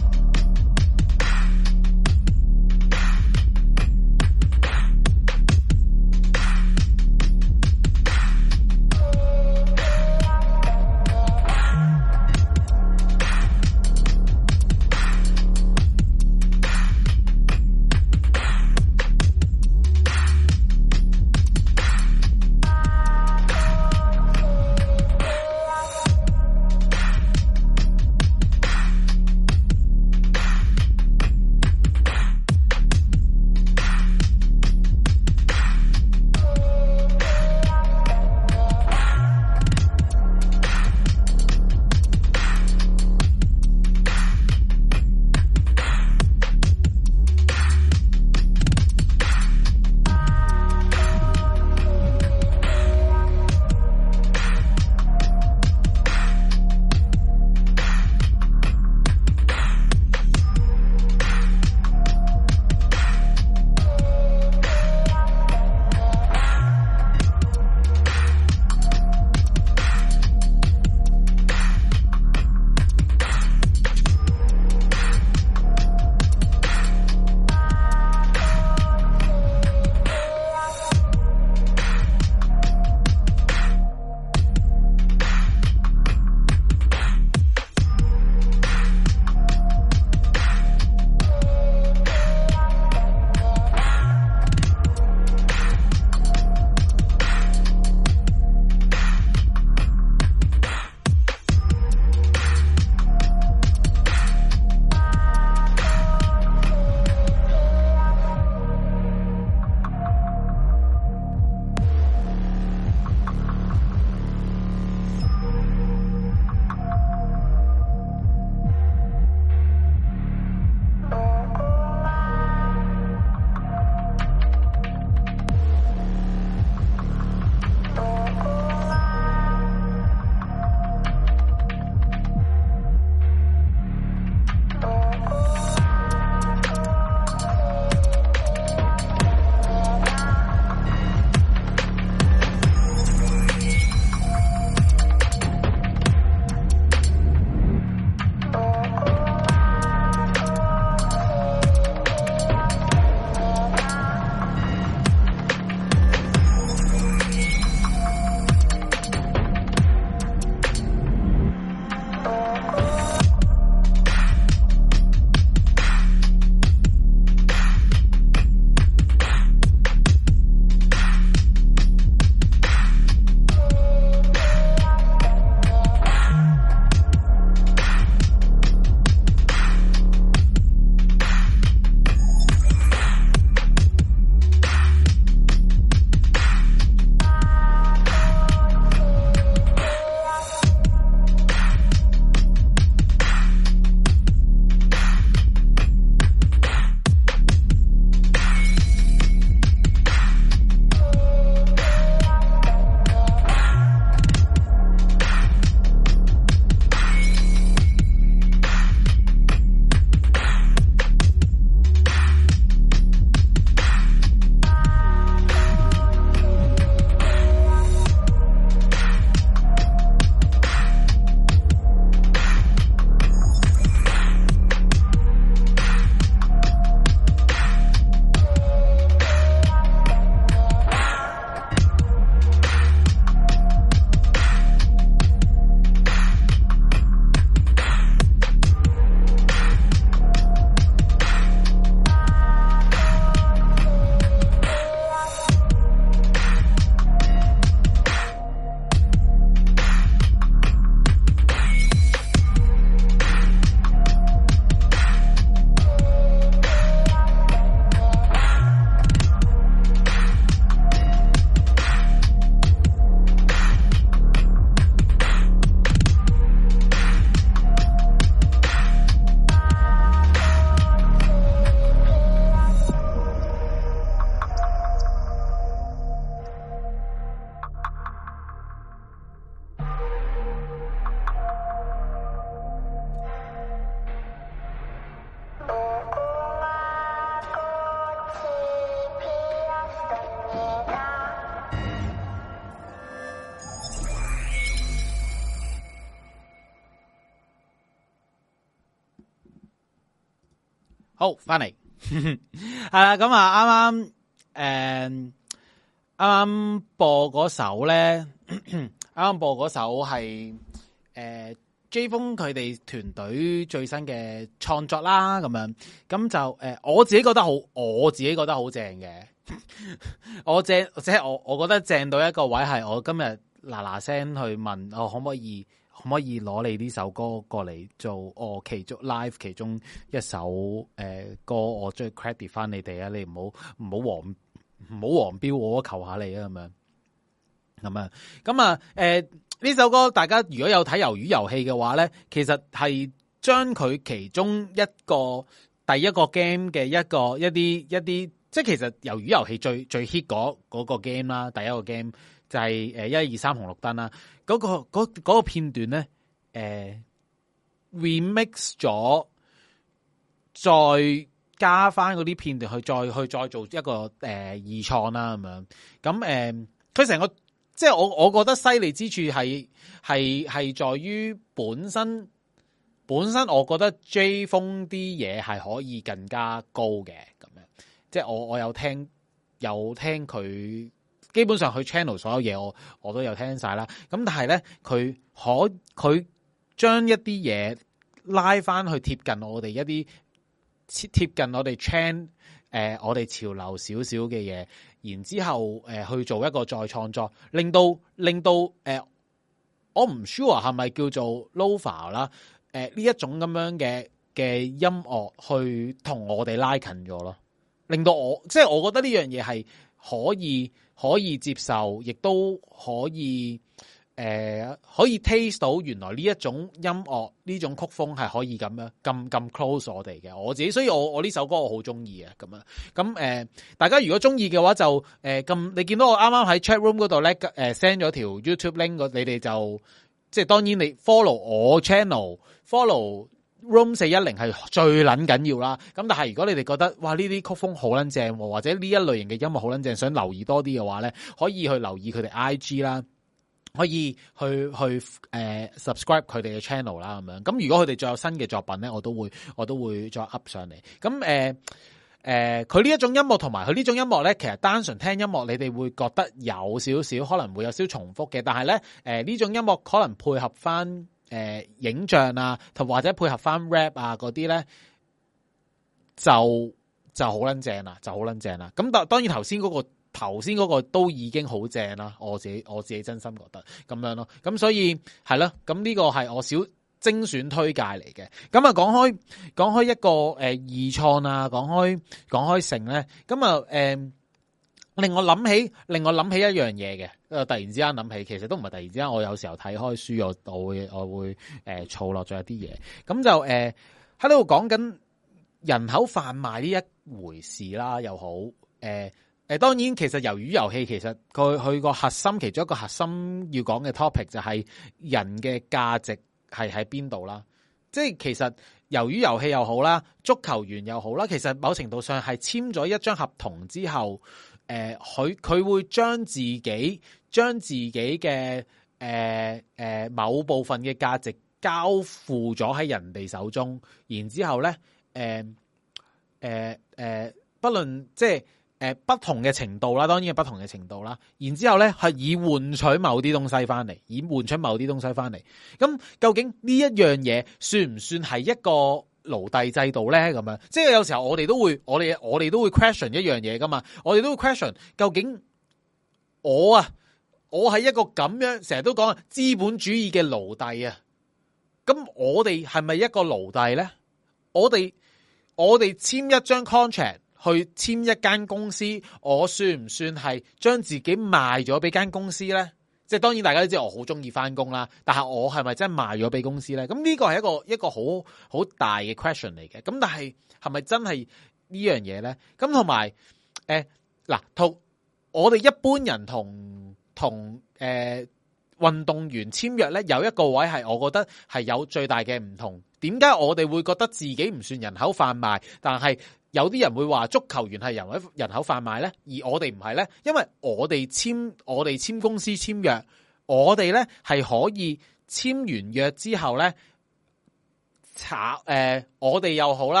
好，翻嚟係啦，咁啊，啱啱誒，啱啱播嗰首咧，啱啱播嗰首係誒 J 風佢哋團隊最新嘅創作啦，咁樣咁就誒、呃，我自己覺得好，我自己覺得好正嘅，我正即係我，我覺得正到一個位係我今日嗱嗱聲去問我可唔可以。可唔可以攞你呢首歌過嚟做我其中 live 其中一首誒、呃、歌，我將 credit 翻你哋啊！你唔好唔好黃唔好黃標我，求下你啊！咁樣咁啊咁啊誒呢首歌大家如果有睇魷魚遊戲嘅話咧，其實係將佢其中一個第一個 game 嘅一個一啲一啲，即係其實魷魚遊戲最最 hit 嗰嗰個 game 啦，第一個 game 就係誒一二三紅綠燈啦。嗰、那個嗰、那個那個片段咧，誒、呃、remix 咗，再加翻嗰啲片段去再去再做一個誒、呃、二創啦咁樣。咁誒，佢、呃、成個即係我我覺得犀利之處係係係在於本身本身，我覺得 J 風啲嘢係可以更加高嘅咁樣。即係我我有聽有聽佢。基本上佢 channel 所有嘢我我都有聽晒啦，咁但係咧佢可佢將一啲嘢拉翻去貼近我哋一啲貼近我哋 channel 誒我哋潮流少少嘅嘢，然之後誒、呃、去做一個再創作，令到令到誒、呃、我唔 sure 係咪叫做 Lo-Fi 啦，誒呢一種咁樣嘅嘅音樂去同我哋拉近咗咯，令到我即係我覺得呢樣嘢係可以。可以接受，亦都可以誒、呃，可以 taste 到原來呢一種音樂呢種曲風係可以咁樣咁咁 close 我哋嘅。我自己，所以我我呢首歌我好中意啊，咁樣咁誒，大家如果中意嘅話就誒咁、呃，你見到我啱啱喺 chat room 嗰度咧誒 send 咗條 YouTube link， 你哋就即係當然你 follow 我 channel，follow Room 四一零係最撚緊要啦，咁但係如果你哋覺得哇呢啲曲風好撚正，或者呢一類型嘅音樂好撚正，想留意多啲嘅話咧，可以去留意佢哋 I G 啦，可以去去誒、呃、subscribe 佢哋嘅 channel 啦咁樣。咁如果佢哋再有新嘅作品咧，我都會我都會再 up 上嚟。咁誒誒，佢呢一種音樂同埋佢呢種音樂咧，其實單純聽音樂，你哋會覺得有少少可能會有少少重複嘅，但係咧誒呢種音樂可能配合翻。誒、呃，影像啊，同或者配合翻 rap 啊嗰啲咧，就就好撚正啦，就好撚正啦。咁當當然頭先嗰個頭先嗰個都已經好正啦，我自己我自己真心覺得咁樣咯。咁所以係咯，咁呢個係我小精選推介嚟嘅。咁啊，講開講開一個誒二創啊，講開講開成咧，咁啊誒。令我諗起，令我諗起一樣嘢嘅，誒，突然之間諗起，其實都唔係突然之間，我有時候睇開書，我我會我會誒儲落咗一啲嘢，咁就誒喺度講緊人口販賣呢一回事啦，又好，誒、呃、誒，當然其實魷魚遊戲其實佢佢個核心其中一個核心要講嘅 topic 就係人嘅價值係喺邊度啦，即係其實魷魚遊戲又好啦，足球員又好啦，其實某程度上係簽咗一張合同之後。誒、呃，佢佢會將自己將自己嘅誒誒某部分嘅價值交付咗喺人哋手中，然之後咧，誒誒誒，不論即係誒、呃、不同嘅程度啦，當然係不同嘅程度啦。然之後咧係以換取某啲東西翻嚟，以換取某啲東西翻嚟。咁究竟呢一樣嘢算唔算係一個奴隸制度咧？咁樣，即係有時候我哋都會，我哋我哋都會 question 一樣嘢噶嘛，我哋都會 question 究竟我啊，我係一個咁樣成日都講資本主義嘅奴隸啊，咁我哋係咪一個奴隸咧？我哋我哋簽一張 contract 去簽一間公司，我算唔算係將自己賣咗俾間公司咧？即係當然大家都知我好中意翻工啦，但係我係咪真係賣咗俾公司咧？咁呢個係一個一個好好大嘅 question 嚟嘅。咁但係係咪真係呢樣嘢咧？咁同埋誒嗱，同我哋一般人同同誒運動員簽約咧，有一個位係我覺得係有最大嘅唔同。點解我哋會覺得自己唔算人口販賣，但係有啲人會話足球員係人口人口販賣咧，而我哋唔係咧，因為我哋簽我哋簽公司簽約，我哋咧係可以簽完約之後咧查誒，我哋又好啦，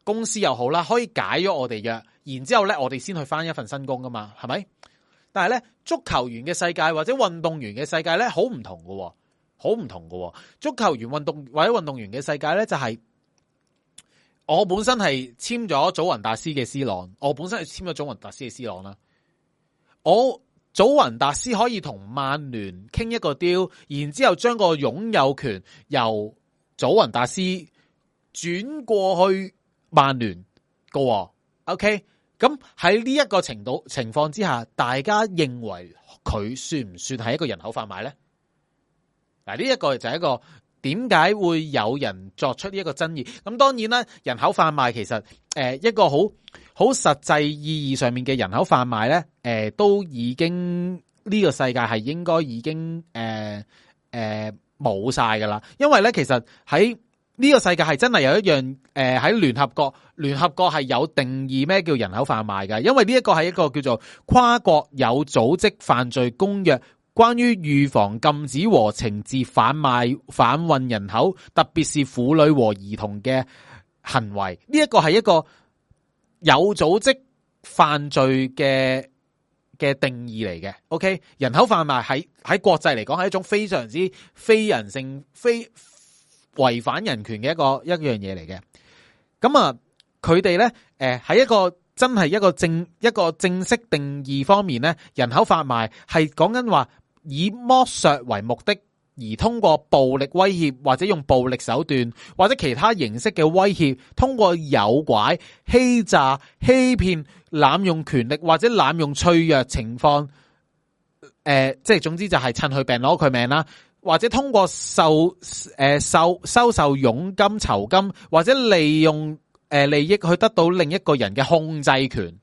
公司又好啦，可以解咗我哋約，然之後咧我哋先去返一份新工噶嘛，係咪？但係咧足球員嘅世界或者運動員嘅世界咧好唔同噶，好唔同噶。足球員運動或者運動員嘅世界咧就係、是。我本身係簽咗祖雲達斯嘅 C 朗，我本身係簽咗祖雲達斯嘅 C 朗啦。我祖雲達斯可以同曼聯傾一個 deal，然之後將個擁有權由祖雲達斯轉過去曼聯個。OK，咁喺呢一個程度情況之下，大家認為佢算唔算係一個人口販賣咧？嗱，呢一個就係一個。點解會有人作出呢一個爭議？咁當然啦，人口販賣其實誒、呃、一個好好實際意義上面嘅人口販賣咧，誒、呃、都已經呢、這個世界係應該已經誒誒冇晒噶啦。因為咧，其實喺呢個世界係真係有一樣誒喺聯合國，聯合國係有定義咩叫人口販賣嘅。因為呢一個係一個叫做跨國有組織犯罪公約。關於預防、禁止和懲治販賣、販運人口，特別是婦女和兒童嘅行為，呢一個係一個有組織犯罪嘅嘅定義嚟嘅。OK， 人口販賣喺喺國際嚟講係一種非常之非人性、非違反人權嘅一個一樣嘢嚟嘅。咁啊，佢哋咧，誒喺一個真係一個正一個正式定義方面咧，人口販賣係講緊話。以剝削為目的，而通過暴力威脅或者用暴力手段或者其他形式嘅威脅，通過誘拐、欺詐、欺騙、濫用權力或者濫用脆弱情況，誒、呃，即係總之就係趁佢病攞佢命啦，或者通過受誒、呃、受收受佣金、酬金或者利用誒、呃、利益去得到另一個人嘅控制權，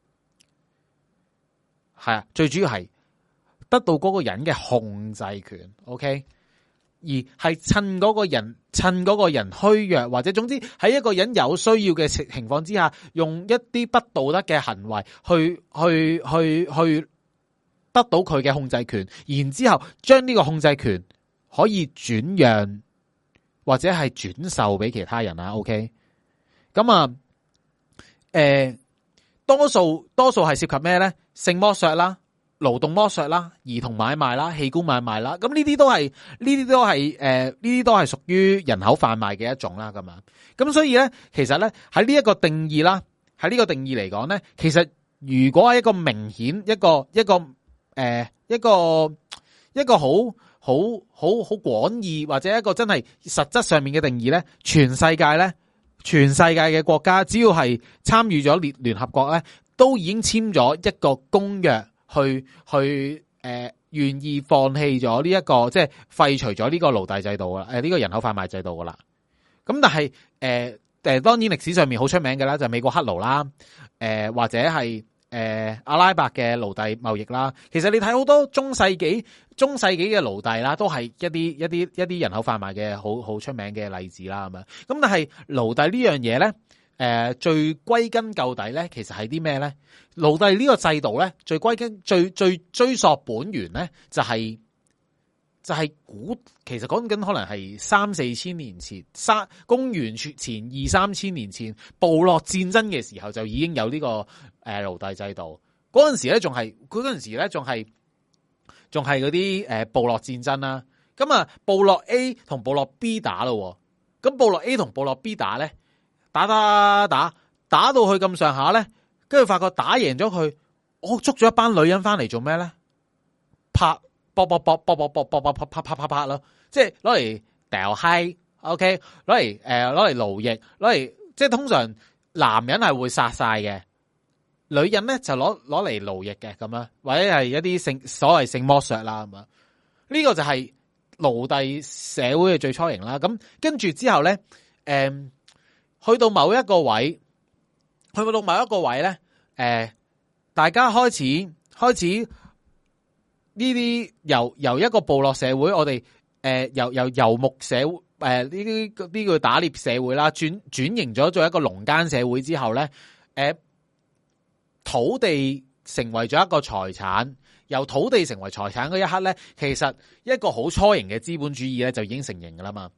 係啊，最主要係。得到嗰個人嘅控制權 ，OK， 而係趁嗰個人趁嗰個人虛弱，或者總之喺一個人有需要嘅情況之下，用一啲不道德嘅行為去去去去得到佢嘅控制權，然之後將呢個控制權可以轉讓或者係轉售俾其他人啊 ，OK， 咁啊，誒、呃，多數多數係涉及咩咧？性剝削啦。勞動剝削啦、兒童買賣啦、器官買賣啦，咁呢啲都係呢啲都係誒呢啲都係屬於人口販賣嘅一種啦，咁樣。咁所以咧，其實咧喺呢一個定義啦，喺呢個定義嚟講咧，其實如果係一個明顯一個一個誒、呃、一個一個好好好好廣義或者一個真係實質上面嘅定義咧，全世界咧，全世界嘅國家只要係參與咗聯聯合國咧，都已經簽咗一個公約。去去誒，願、呃、意放棄咗呢一個，即係廢除咗呢個奴隸制度啦，誒、呃、呢、這個人口販賣制度噶啦。咁但係誒誒，當然歷史上面好出名嘅啦，就係美國黑奴啦，誒、呃、或者係誒、呃、阿拉伯嘅奴隸貿易啦。其實你睇好多中世紀中世紀嘅奴隸啦，都係一啲一啲一啲人口販賣嘅好好出名嘅例子啦，咁樣。咁但係奴隸呢樣嘢咧？誒、呃，最歸根究底咧，其實係啲咩咧？奴隸呢個制度咧，最歸根最最追溯本源咧，就係、是、就係、是、古，其實講緊可能係三四千年前，三公元前二三千年前，部落戰爭嘅時候就已經有呢、這個誒、呃、奴隸制度。嗰陣時咧，仲係佢嗰陣時咧，仲係仲係嗰啲誒部落戰爭啦。咁啊，部落 A 同部落 B 打咯，咁部落 A 同部落 B 打咧。打打打打到去咁上下咧，跟住發覺打贏咗佢，我捉咗一班女人翻嚟做咩咧？拍搏搏搏搏搏搏搏搏拍拍拍拍咯，即係攞嚟掉閪 ，OK， 攞嚟誒攞嚟勞役，攞嚟即係通常男人係會殺晒嘅，女人咧就攞攞嚟勞役嘅咁樣，或者係一啲性所謂性剝削啦咁樣。呢個就係奴隸社會嘅最初型啦。咁跟住之後咧，誒、嗯。去到某一個位，去到某一個位咧，誒、呃，大家開始開始呢啲由由一個部落社會，我哋誒、呃、由由游牧社會，誒呢啲呢個打獵社會啦，轉轉型咗做一個農耕社會之後咧，誒、呃，土地成為咗一個財產，由土地成為財產嗰一刻咧，其實一個好初型嘅資本主義咧就已經成型噶啦嘛。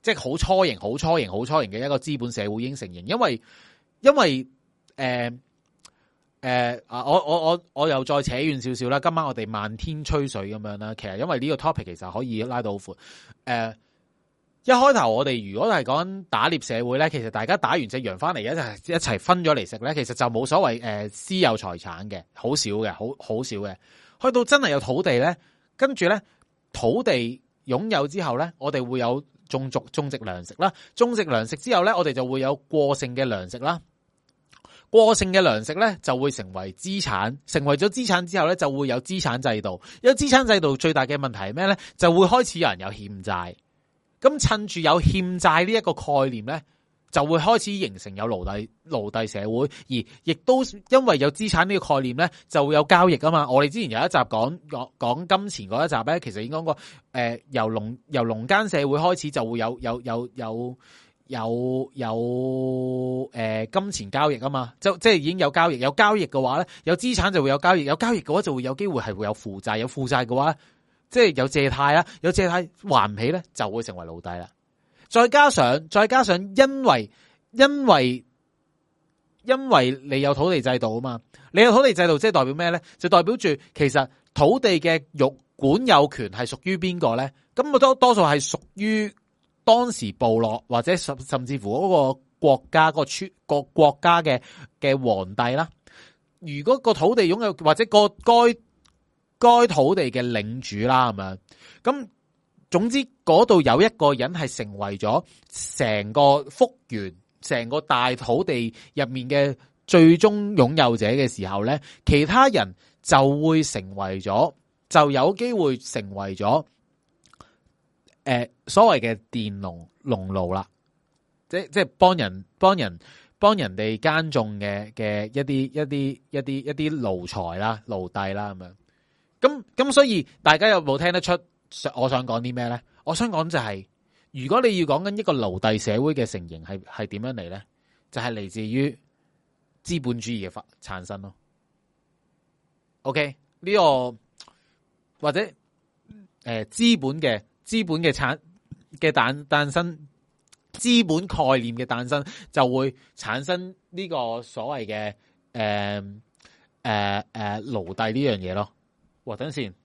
即係好初型、好初型、好初型嘅一個資本社會已經成型，因為因為誒誒啊，我我我我又再扯遠少少啦。今晚我哋漫天吹水咁樣啦，其實因為呢個 topic 其實可以拉到好闊。誒、呃，一開頭我哋如果係講打獵社會咧，其實大家打完隻羊翻嚟一齊一齊分咗嚟食咧，其實就冇所謂誒、呃、私有財產嘅，好少嘅，好好少嘅。去到真係有土地咧，跟住咧土地擁有之後咧，我哋會有種族種植糧食啦，種植糧食之後咧，我哋就會有過剩嘅糧食啦。過剩嘅糧食咧就會成為資產，成為咗資產之後咧就會有資產制度。有資產制度最大嘅問題係咩咧？就會開始有人有欠債。咁趁住有欠債呢一個概念咧，就會開始形成有奴隸奴隸社會，而亦都因為有資產呢個概念咧，就會有交易啊嘛。我哋之前有一集講講講金錢嗰一集咧，其實已經講過，誒、呃、由農由農耕社會開始就會有有有有。有有誒、呃、金錢交易啊嘛，就即係已經有交易，有交易嘅話咧，有資產就會有交易，有交易嘅話就會有機會係會有負債，有負債嘅話，即係有借貸啦，有借貸還唔起咧，就會成為奴隸啦。再加上再加上，因為因為因為你有土地制度啊嘛，你有土地制度即係代表咩咧？就代表住其實土地嘅域管有權係屬於邊個咧？咁我多多數係屬於當時部落或者甚甚至乎嗰個國家、個村、個國家嘅嘅皇帝啦。如果個土地擁有或者個該該土地嘅領主啦，咁樣咁，總之嗰度有一個人係成為咗成個幅員、成個大土地入面嘅最終擁有者嘅時候咧，其他人就會成為咗，就有機會成為咗。誒、呃，所謂嘅佃農農奴啦，即即係幫人幫人幫人哋耕種嘅嘅一啲一啲一啲一啲奴才啦、奴隸啦咁樣。咁咁所以大家有冇聽得出我想講啲咩咧？我想講就係、是，如果你要講緊一個奴隸社會嘅成形係係點樣嚟咧，就係、是、嚟自於資本主義嘅發產生咯。OK， 呢、這個或者誒資、呃、本嘅。資本嘅產嘅誕誕生，資本概念嘅誕生就會產生呢個所謂嘅誒誒誒奴隸呢樣嘢咯。哇，等先，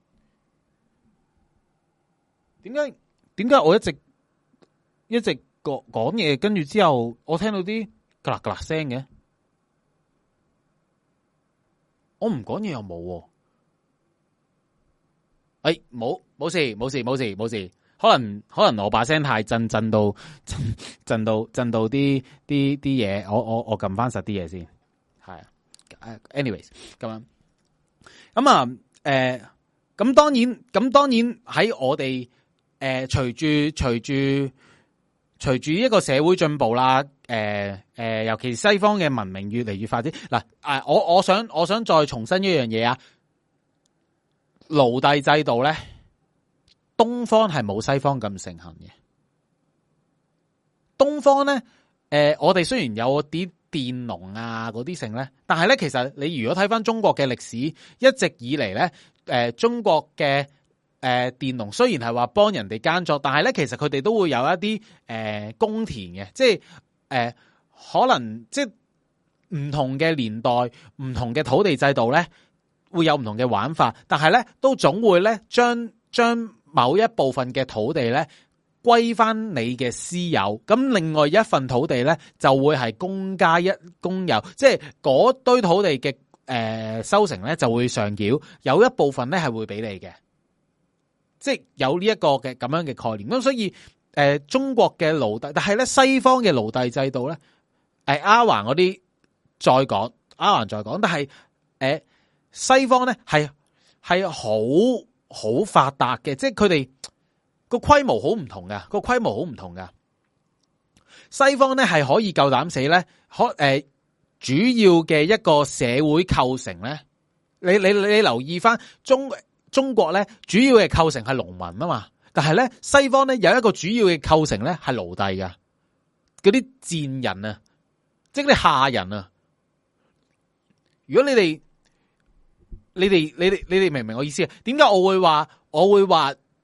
點解點解我一直一直講講嘢，跟住之後我聽到啲㗎啦㗎啦聲嘅，我唔講嘢又冇喎。誒，冇冇事冇事冇事冇事，可能可能我把聲太震震到震震到震到啲啲啲嘢，我我我撳翻實啲嘢先，係啊 ，anyways 咁樣，咁啊，誒、呃，咁當然咁當然喺我哋誒隨住隨住隨住一個社會進步啦，誒、呃、誒、呃，尤其西方嘅文明越嚟越發展，嗱，誒，我我想我想再重申一樣嘢啊。奴隸制度咧，東方係冇西方咁盛行嘅。東方咧，誒、呃，我哋雖然有啲佃農啊嗰啲剩咧，但係咧，其實你如果睇翻中國嘅歷史，一直以嚟咧，誒、呃，中國嘅誒佃農雖然係話幫人哋耕作，但係咧，其實佢哋都會有一啲誒公田嘅，即係誒、呃、可能即係唔同嘅年代、唔同嘅土地制度咧。會有唔同嘅玩法，但係咧都總會咧將將某一部分嘅土地咧歸翻你嘅私有，咁另外一份土地咧就會係公家一公有，即係嗰堆土地嘅誒、呃、收成咧就會上繳，有一部分咧係會俾你嘅，即係有呢一個嘅咁樣嘅概念。咁所以誒、呃、中國嘅奴隸，但係咧西方嘅奴隸制度咧，誒阿環嗰啲再講，阿環再講，但係誒。呃西方咧係係好好發達嘅，即係佢哋個規模好唔同噶，個規模好唔同噶。西方咧係可以夠膽死咧，可誒、呃、主要嘅一個社會構成咧，你你你留意翻中中國咧，主要嘅構成係農民啊嘛，但係咧西方咧有一個主要嘅構成咧係奴隸噶，嗰啲賤人啊，即係啲下人啊。如果你哋你哋你哋你哋明唔明我意思啊？點解我會話我會話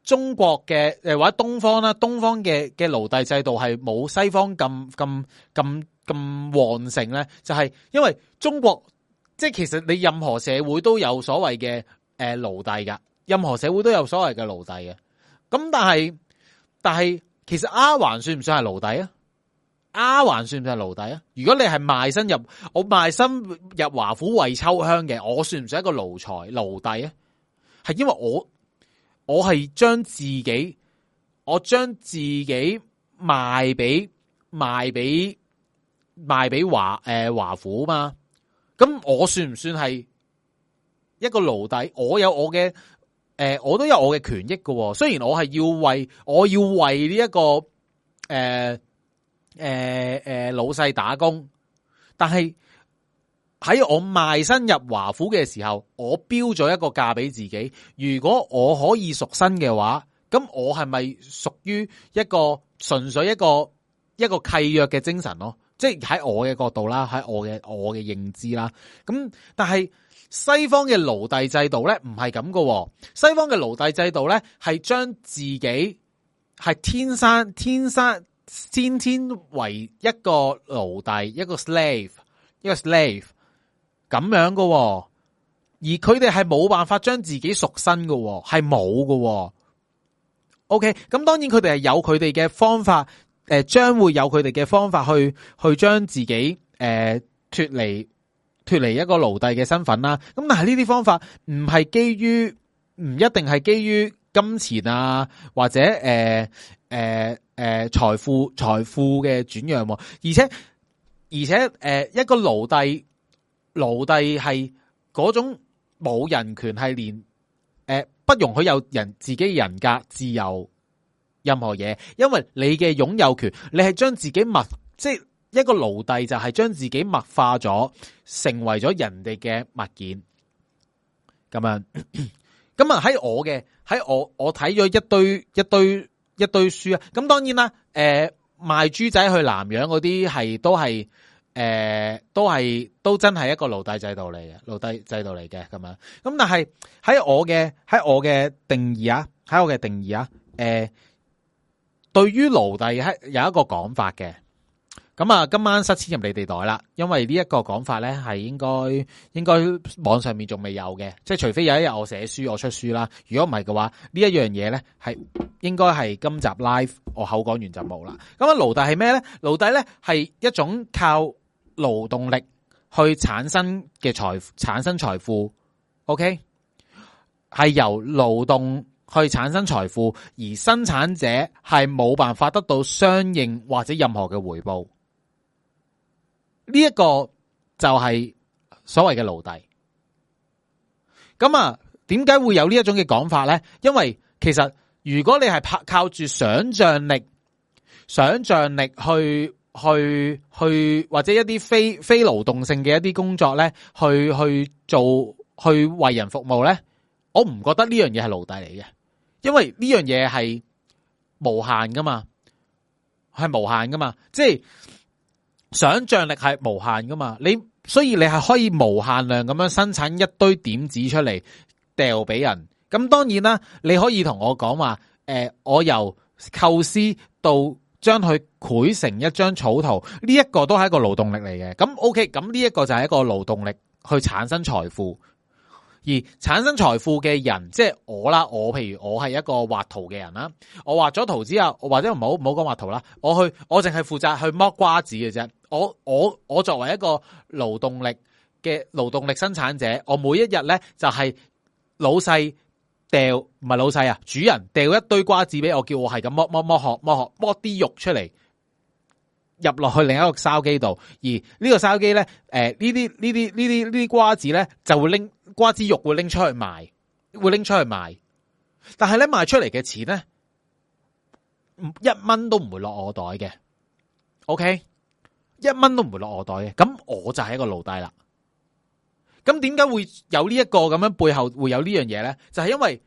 中國嘅誒或者東方啦，東方嘅嘅奴隸制度係冇西方咁咁咁咁旺盛咧，就係、是、因為中國即係其實你任何社會都有所謂嘅誒奴隸噶，任何社會都有所謂嘅奴隸嘅。咁但係但係其實丫鬟算唔算係奴隸啊？丫鬟算唔算係奴隸啊？如果你係賣身入我賣身入華府為秋香嘅，我算唔算一個奴才奴隸啊？係因為我。我係將自己，我將自己賣俾賣俾賣俾華誒華府嘛？咁我算唔算係一個奴隸？我有我嘅誒、呃，我都有我嘅權益㗎。雖然我係要為我要為呢、這、一個誒誒誒老細打工，但係喺我賣身入華府嘅時候，我標咗一個價俾自己。如果我可以贖身嘅話，咁我係咪屬於一個純粹一個一個契約嘅精神咯？即係喺我嘅角度啦，喺我嘅我嘅認知啦。咁但係西方嘅奴隸制度咧，唔係咁噶。西方嘅奴隸制度咧，係將自己係天生天生先天為一個奴隸，一個 slave， 一個 slave。咁樣噶，而佢哋係冇辦法將自己贖身噶，係冇噶。OK， 咁當然佢哋係有佢哋嘅方法，誒、呃，將會有佢哋嘅方法去去將自己誒脫離脫離一個奴隸嘅身份啦。咁但係呢啲方法唔係基於，唔一定係基於金錢啊，或者誒誒誒財富財富嘅轉讓，而且而且誒、呃、一個奴隸。奴隸係嗰種冇人權，係連誒、呃、不容許有人自己人格自由任何嘢，因為你嘅擁有權，你係將自己物，即係一個奴隸就係將自己物化咗，成為咗人哋嘅物件。咁樣，咁啊喺我嘅喺我我睇咗一堆一堆一堆書啊，咁當然啦，誒、呃、賣豬仔去南洋嗰啲係都係。誒、呃，都係都真係一個奴隸制度嚟嘅，奴隸制度嚟嘅咁樣。咁但係喺我嘅喺我嘅定義啊，喺我嘅定義啊，誒、呃，對於奴隸係有一個講法嘅。咁啊，今晚塞錢入你哋袋啦，因為呢一個講法咧係應該應該網上面仲未有嘅，即係除非有一日我寫書我出書啦。如果唔係嘅話，呢一樣嘢咧係應該係今集 live 我口講完就冇啦。咁啊，奴隸係咩咧？奴隸咧係一種靠勞動力去產生嘅財產生財富 ，OK， 係由勞動去產生財富，而生產者係冇辦法得到相應或者任何嘅回報。呢一個就係所謂嘅奴隸。咁啊，點解會有呢一種嘅講法咧？因為其實如果你係靠靠住想象力、想象力去。去去或者一啲非非勞動性嘅一啲工作咧，去去做去為人服務咧，我唔覺得呢樣嘢係奴隸嚟嘅，因為呢樣嘢係無限噶嘛，係無限噶嘛，即係想象力係無限噶嘛，你所以你係可以無限量咁樣生產一堆點子出嚟掉俾人。咁當然啦，你可以同我講話，誒、呃，我由構思到。將佢繪成一張草圖，呢、這、一個都係一個勞動力嚟嘅。咁 OK，咁呢一個就係一個勞動力去產生財富，而產生財富嘅人，即係我啦。我譬如我係一個畫圖嘅人啦，我畫咗圖之後，或者唔好唔好講畫圖啦，我去我淨係負責去剝瓜子嘅啫。我我我作為一個勞動力嘅勞動力生產者，我每一日咧就係、是、老細。掉唔係老細啊，主人掉一堆瓜子俾我，叫我係咁剝剝剝殼剝殼剝啲肉出嚟，入落去另一個燒機度。而呢個燒機咧，誒呢啲呢啲呢啲呢啲瓜子咧就會拎瓜子肉會拎出去賣，會拎出去賣。但係咧賣出嚟嘅錢咧，一蚊都唔會落我袋嘅。OK， 一蚊都唔會落我袋嘅。咁我就係一個奴隸啦。咁點解會有呢一個咁樣背後會有呢樣嘢咧？就係、是、因為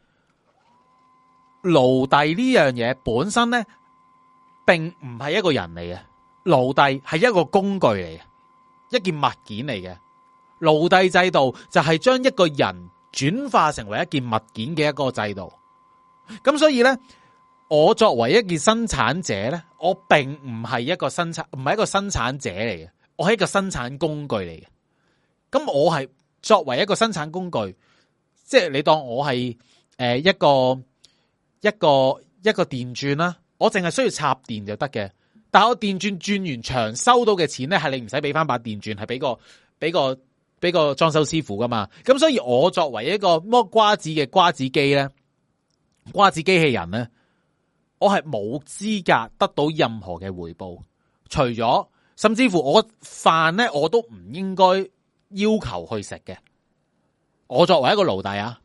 奴隸呢樣嘢本身咧，並唔係一個人嚟嘅，奴隸係一個工具嚟嘅，一件物件嚟嘅。奴隸制度就係將一個人轉化成為一件物件嘅一個制度。 咁所以咧，我作為一件生產者咧，我並唔係一個生產，唔係一個生產者嚟嘅，我係一個生產工具嚟嘅。咁我係作為一個生產工具，即係你當我係誒一個一個一個電鑽啦，我淨係需要插電就得嘅。但係我電鑽轉完場收到嘅錢咧，係你唔使俾翻把電鑽，係俾個俾個俾個裝修師傅噶嘛。咁所以我作為一個剝瓜子嘅瓜子機咧，瓜子機器人咧，我係冇資格得到任何嘅回報，除咗甚至乎我飯咧我都唔應該要求去食嘅。我作為一個奴隸啊，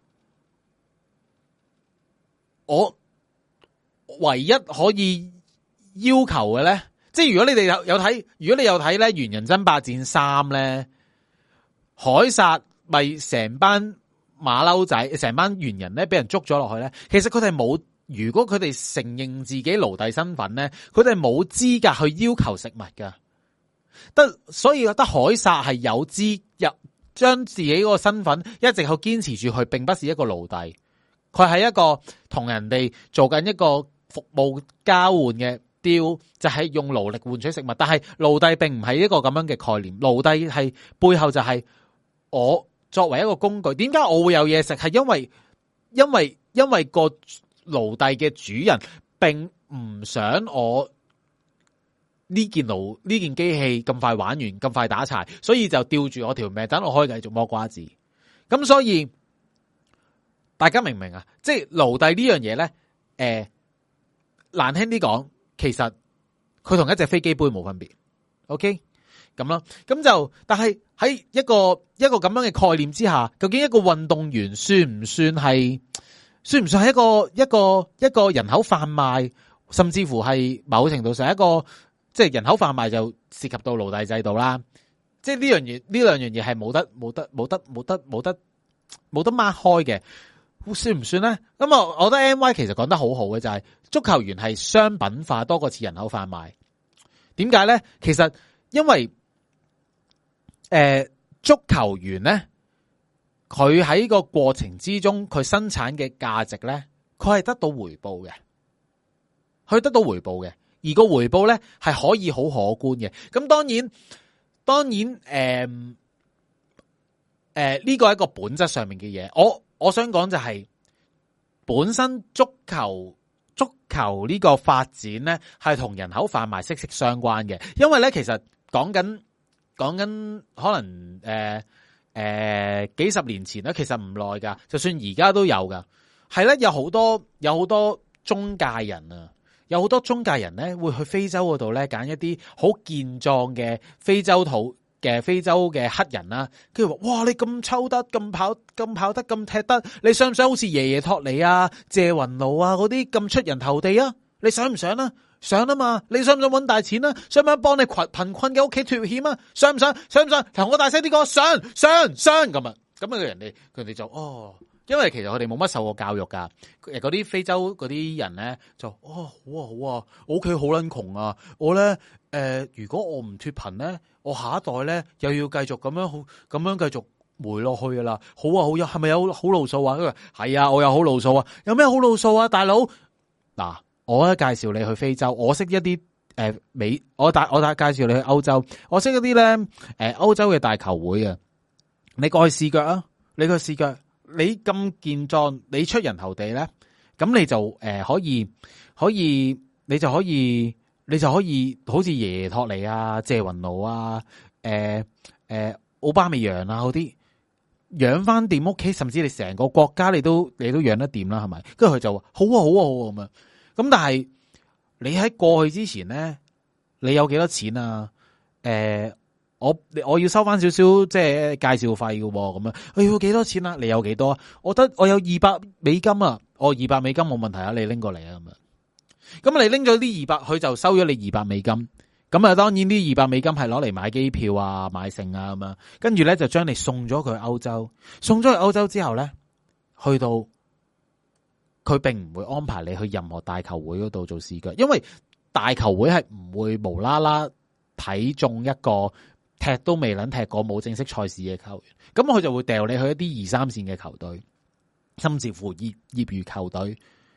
我唯一可以要求嘅咧，即係如果你哋有有睇，如果你有睇咧《猿人爭霸戰三》咧，凱撒咪成班馬騮仔，成班猿人咧俾人捉咗落去咧。其實佢哋冇，如果佢哋承認自己奴隸身份咧，佢哋冇資格去要求食物噶。得所以覺得凱撒係有資入將自己嗰個身份一直去堅持住，佢並不是一個奴隸，佢係一個同人哋做緊一個服務交換嘅。就係用勞力換取食物，但係奴隸並唔係一個咁樣嘅概念。奴隸係背後就係我作為一個工具。點解我會有嘢食？係因為因為因為個奴隸嘅主人並唔想我呢件奴呢件機器咁快玩完，咁快打柴，所以就吊住我條命，等我可以繼續剝瓜子。咁所以大家明唔明啊？即係奴隸呢樣嘢咧，誒、呃、難聽啲講。其實佢同一隻飛機杯冇分別 ，OK 咁咯，咁就但係喺一個一個咁樣嘅概念之下，究竟一個運動員算唔算係算唔算係一個一個一個人口販賣，甚至乎係某程度上一個即係人口販賣就涉及到奴隸制度啦。即係呢樣嘢呢兩樣嘢係冇得冇得冇得冇得冇得冇得擘開嘅。算唔算咧？咁啊，我覺得 M Y 其實講得好好嘅就係、是、足球員係商品化多過似人口販賣。點解咧？其實因為誒、呃、足球員咧，佢喺個過程之中，佢生產嘅價值咧，佢係得到回報嘅，佢得到回報嘅，而個回報咧係可以好可觀嘅。咁當然，當然誒誒呢個係一個本質上面嘅嘢，我。我想講就係本身足球足球呢個發展咧，係同人口販賣息息相關嘅。因為咧，其實講緊講緊可能誒誒、呃呃、幾十年前咧，其實唔耐噶，就算而家都有噶。係咧，有好多有好多中介人啊，有好多中介人咧會去非洲嗰度咧揀一啲好健壯嘅非洲土。嘅非洲嘅黑人啦，跟住話：哇！你咁抽得，咁跑，咁跑得，咁踢得，你想唔想好似爺爺托尼啊、謝雲奴啊嗰啲咁出人頭地啊？你想唔想啊？想啊嘛！你想唔想搵大錢啊？想唔想幫你貧貧困嘅屋企脫險啊？想唔想？想唔想？同我大聲啲講，想想想咁啊！咁啊，人哋佢哋就哦，因為其實佢哋冇乜受過教育噶，誒嗰啲非洲嗰啲人咧就哦好啊好啊，我屋企好撚窮啊，我咧誒、呃、如果我唔脫貧咧。我下一代咧又要繼續咁樣好咁樣繼續回落去噶啦，好啊好有係咪有好路數啊？佢話係啊，我有好路數啊，有咩好路數啊？大佬嗱，我咧介紹你去非洲，我識一啲誒、呃、美，我帶我帶介紹你去歐洲，我識一啲咧誒歐洲嘅大球會啊，你過去試腳啊，你過去試腳，你咁健壯，你出人頭地咧，咁你就誒、呃、可以可以，你就可以。你就可以好似爺爺托尼啊、謝雲奴啊、誒誒奧巴美揚啊嗰啲養翻掂屋企，甚至你成個國家你都你都養得掂啦，係咪？跟住佢就話好啊好啊好啊咁樣。咁但係你喺過去之前咧，你有幾多錢啊？誒、呃，我我要收翻少少即係介紹費嘅咁樣。我要幾多錢啊？你有幾多啊？我得我有二百美金啊！我二百美金冇問題啊，你拎過嚟啊咁樣。咁你拎咗啲二百，佢就收咗你二百美金。咁啊，當然呢二百美金係攞嚟買機票啊、買剩啊咁樣。跟住咧就將你送咗佢去歐洲。送咗去歐洲之後咧，去到佢並唔會安排你去任何大球會嗰度做試腳，因為大球會係唔會無啦啦睇中一個踢都未能踢過冇正式賽事嘅球員。咁佢就會掉你去一啲二三線嘅球隊，甚至乎業業餘球隊。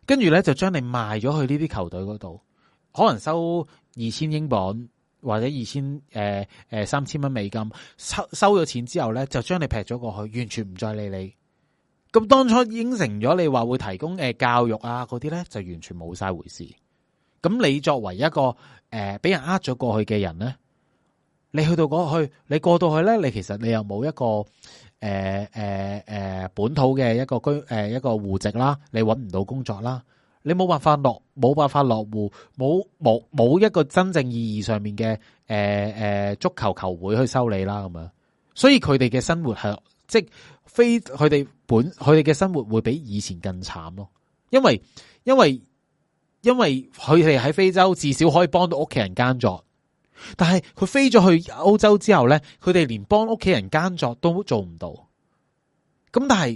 跟住咧就將你賣咗去呢啲球隊嗰度，可能收二千英鎊或者二千誒誒三千蚊美金，收收咗錢之後咧就將你劈咗過去，完全唔再理你。咁當初應承咗你話會提供誒教育啊嗰啲咧，就完全冇晒回事。咁你作為一個誒俾人呃咗過去嘅人咧，你去到嗰去，你過到去咧，你其實你又冇一個誒誒誒本土嘅一個居誒、呃、一個戶籍啦，你搵唔到工作啦，你冇辦法落冇辦法落戶，冇冇冇一個真正意義上面嘅誒誒足球球會去收你啦咁樣，所以佢哋嘅生活係即係非佢哋本佢哋嘅生活會比以前更慘咯，因為因為因為佢哋喺非洲至少可以幫到屋企人耕作。但係佢飛咗去歐洲之後咧，佢哋連幫屋企人耕作都做唔到。咁但係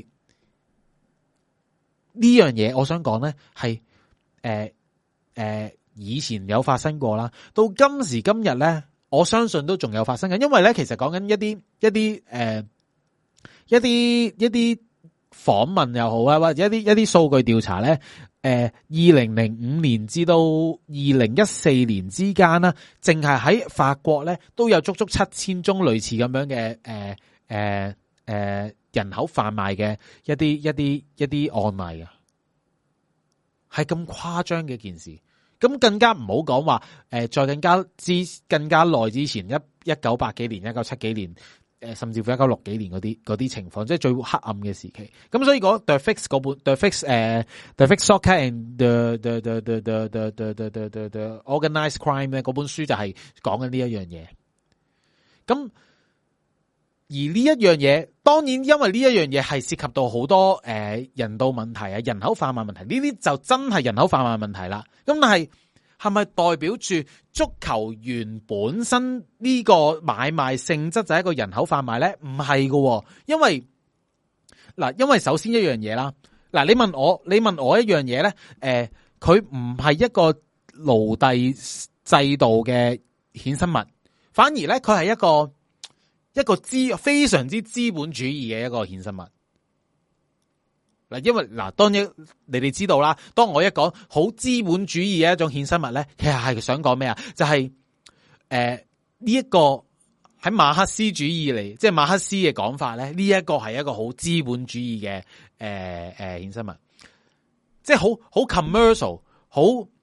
呢樣嘢，我想講咧係誒誒以前有發生過啦，到今時今日咧，我相信都仲有發生緊。因為咧，其實講緊一啲一啲誒、呃、一啲一啲訪問又好啊，或者一啲一啲數據調查咧。誒，二零零五年至到二零一四年之間啦，淨係喺法國咧都有足足七千宗類似咁樣嘅誒誒誒人口販賣嘅一啲一啲一啲案例啊，係咁誇張嘅一件事。咁更加唔好講話誒，再更加之更加耐之前一一九八幾年、一九七幾年。誒，甚至乎一九六幾年嗰啲嗰啲情況，即係最黑暗嘅時期。咁所以嗰 The Fix 嗰本 The Fix 誒、uh, The Fix Soccer and the the the the the the the the the the Organized Crime 咧，嗰本書就係講緊呢一樣嘢。咁而呢一樣嘢，當然因為呢一樣嘢係涉及到好多誒、呃、人道問題啊、人口販賣問題，呢啲就真係人口販賣問題啦。咁但係係咪代表住足球員本身呢個買賣性質就係一個人口販賣咧？唔係㗎，因為嗱，因為首先一樣嘢啦，嗱，你問我，你問我一樣嘢咧，誒、呃，佢唔係一個奴隸制度嘅衍生物，反而咧佢係一個一個資非常之資本主義嘅一個衍生物。嗱，因為嗱，當然你哋知道啦。當我一講好資本主義嘅一種衍生物咧，其實係想講咩啊？就係誒呢一個喺馬克思主義嚟，即係馬克思嘅講法咧，呢一個係一個好資本主義嘅誒誒衍生物，即係好好 commercial， 好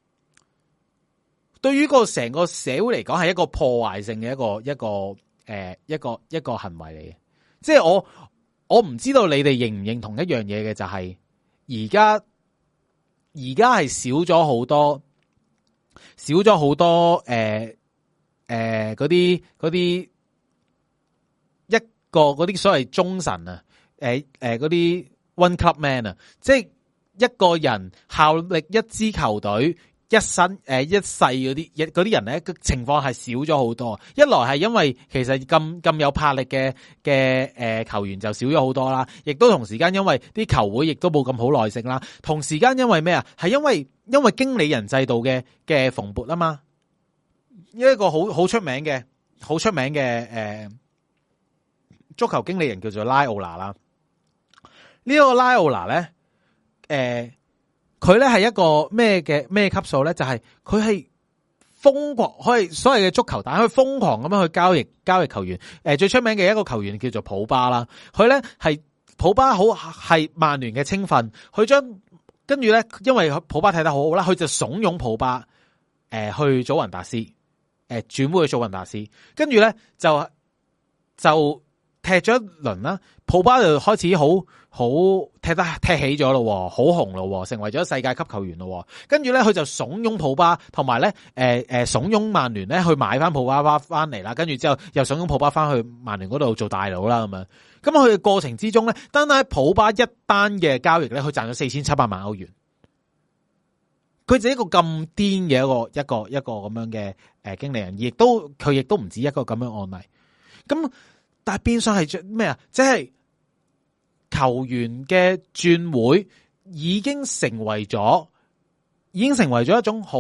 對於個成個社會嚟講係一個破壞性嘅一個一個誒、呃、一個一個行為嚟嘅，即係我。我唔知道你哋認唔認同一樣嘢嘅，就係而家而家係少咗好多少咗好多誒誒嗰啲嗰啲一個嗰啲所謂忠臣啊，誒誒嗰啲 one club man 啊，即係一個人效力一支球隊一生誒一世嗰啲嗰啲人咧，情況係少咗好多。一來係因為其實咁咁有魄力嘅嘅誒球員就少咗好多啦，亦都同時間因為啲球會亦都冇咁好耐性啦。同時間因為咩啊？係因為因為經理人制度嘅嘅蓬勃啊嘛。一個好好出名嘅好出名嘅誒、呃、足球經理人叫做拉奧拿啦。呢、這個拉奧拿咧誒。呃佢咧係一個咩嘅咩級數咧？就係佢係瘋狂，可以所謂嘅足球蛋，佢瘋狂咁樣去交易交易球員。誒，最出名嘅一個球員叫做普巴啦。佢咧係普巴好係曼聯嘅青訓，佢將跟住咧，因為普巴睇得好好啦，佢就慫恿普巴誒、呃、去祖雲達斯，誒轉會去祖雲達斯，跟住咧就就踢咗一輪啦。普巴就開始好。好踢得踢起咗咯，好紅咯，成為咗世界級球員咯。跟住咧，佢就慫恿普巴，同埋咧，誒誒，慫恿曼聯咧去買翻普巴巴翻嚟啦。跟住之後又慫恿普巴翻去曼聯嗰度做大佬啦，咁樣。咁佢嘅過程之中咧，單單喺普巴一單嘅交易咧，佢賺咗四千七百萬歐元。佢就一個咁癲嘅一個一個一個咁樣嘅誒經理人，亦都佢亦都唔止一個咁樣案例。咁但係變相係咩啊？即係。球員嘅轉會已經成為咗，已經成為咗一種好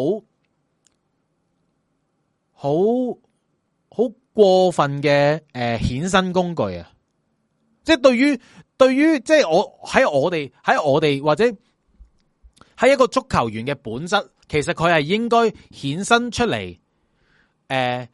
好好過分嘅誒衍生工具啊！即係對於對於即係我喺我哋喺我哋或者喺一個足球員嘅本質，其實佢係應該衍生出嚟。誒、呃，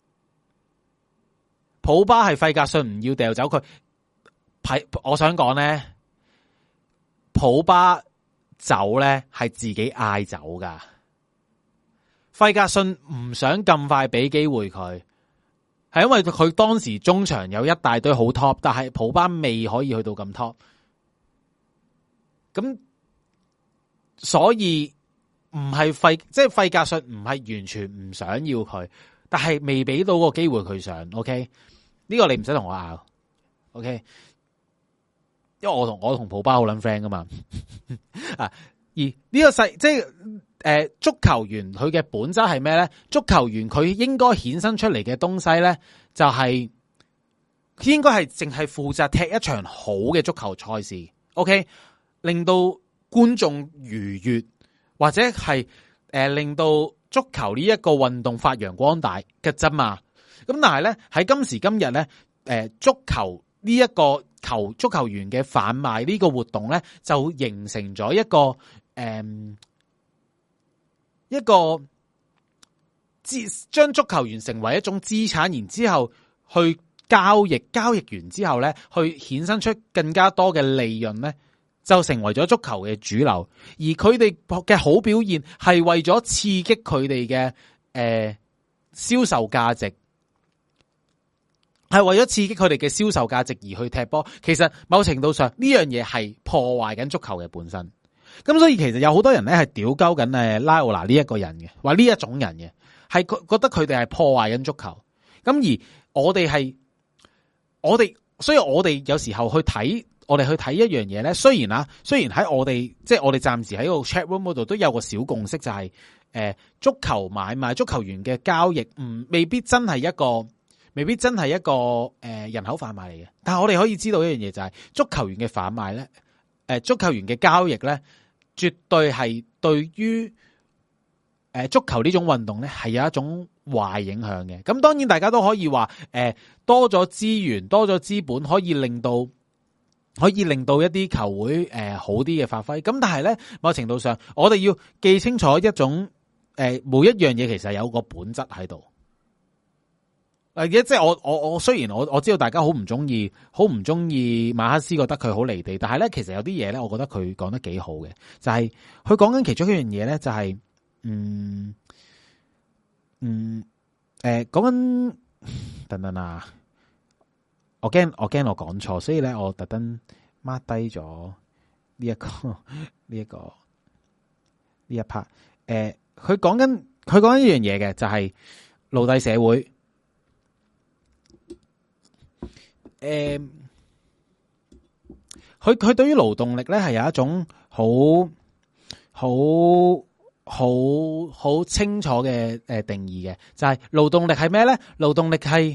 普巴係費格遜唔要掉走佢，係我想講咧，普巴走咧係自己嗌走噶。費格遜唔想咁快俾機會佢，係因為佢當時中場有一大堆好 top， 但係普巴未可以去到咁 top， 咁所以唔係費，即係費格遜唔係完全唔想要佢，但係未俾到個機會佢上。OK，呢個你唔使同我拗。OK，因為我同我同普巴好撚 friend 噶嘛。啊，而呢個世即係。誒、呃，足球員佢嘅本質係咩咧？足球員佢應該衍生出嚟嘅東西咧，就係、是、應該係淨係負責踢一場好嘅足球賽事 ，OK， 令到觀眾愉悅，或者係誒、呃、令到足球呢一個運動發揚光大嘅啫嘛。咁但係咧喺今時今日咧，誒、呃、足球呢一個球足球員嘅販賣呢個活動咧，就形成咗一個誒。呃一個資將足球員成為一種資產，然之後去交易，交易完之後咧，去衍生出更加多嘅利潤咧，就成為咗足球嘅主流。而佢哋嘅好表現係為咗刺激佢哋嘅誒銷售價值，係為咗刺激佢哋嘅銷售價值而去踢波。其實某程度上呢樣嘢係破壞緊足球嘅本身。咁所以其實有好多人咧係屌鳩緊誒拉奧拿呢一個人嘅，話呢一種人嘅，係覺得佢哋係破壞緊足球。咁而我哋係我哋，所以我哋有時候去睇，我哋去睇一樣嘢咧。雖然啊，雖然喺我哋即係我哋暫時喺個 chat room 嗰度都有個小共識，就係、是、誒、呃、足球買賣、足球員嘅交易，唔未必真係一個，未必真係一個誒、呃、人口販賣嚟嘅。但係我哋可以知道一樣嘢就係、是、足球員嘅販賣咧，誒、呃、足球員嘅交易咧。絕對係對於誒足球呢種運動咧係有一種壞影響嘅。咁當然大家都可以話誒多咗資源、多咗資本，可以令到可以令到一啲球會誒好啲嘅發揮。咁但係咧，某程度上我哋要記清楚一種誒每一樣嘢其實有個本質喺度。誒，即係我我我雖然我我知道大家好唔中意，好唔中意馬克思，覺得佢好離地，但係咧，其實有啲嘢咧，我覺得佢講得幾好嘅，就係佢講緊其中一樣嘢咧，就係嗯嗯誒，講緊等等啊，我驚我驚我講錯，所以咧我特登 mark 低咗呢一個呢一個呢一 part。誒，佢講緊佢講緊一樣嘢嘅，就係奴隸社會。誒，佢佢對於勞動力咧係有一種好好好好清楚嘅誒定義嘅，就係勞動力係咩咧？勞動力係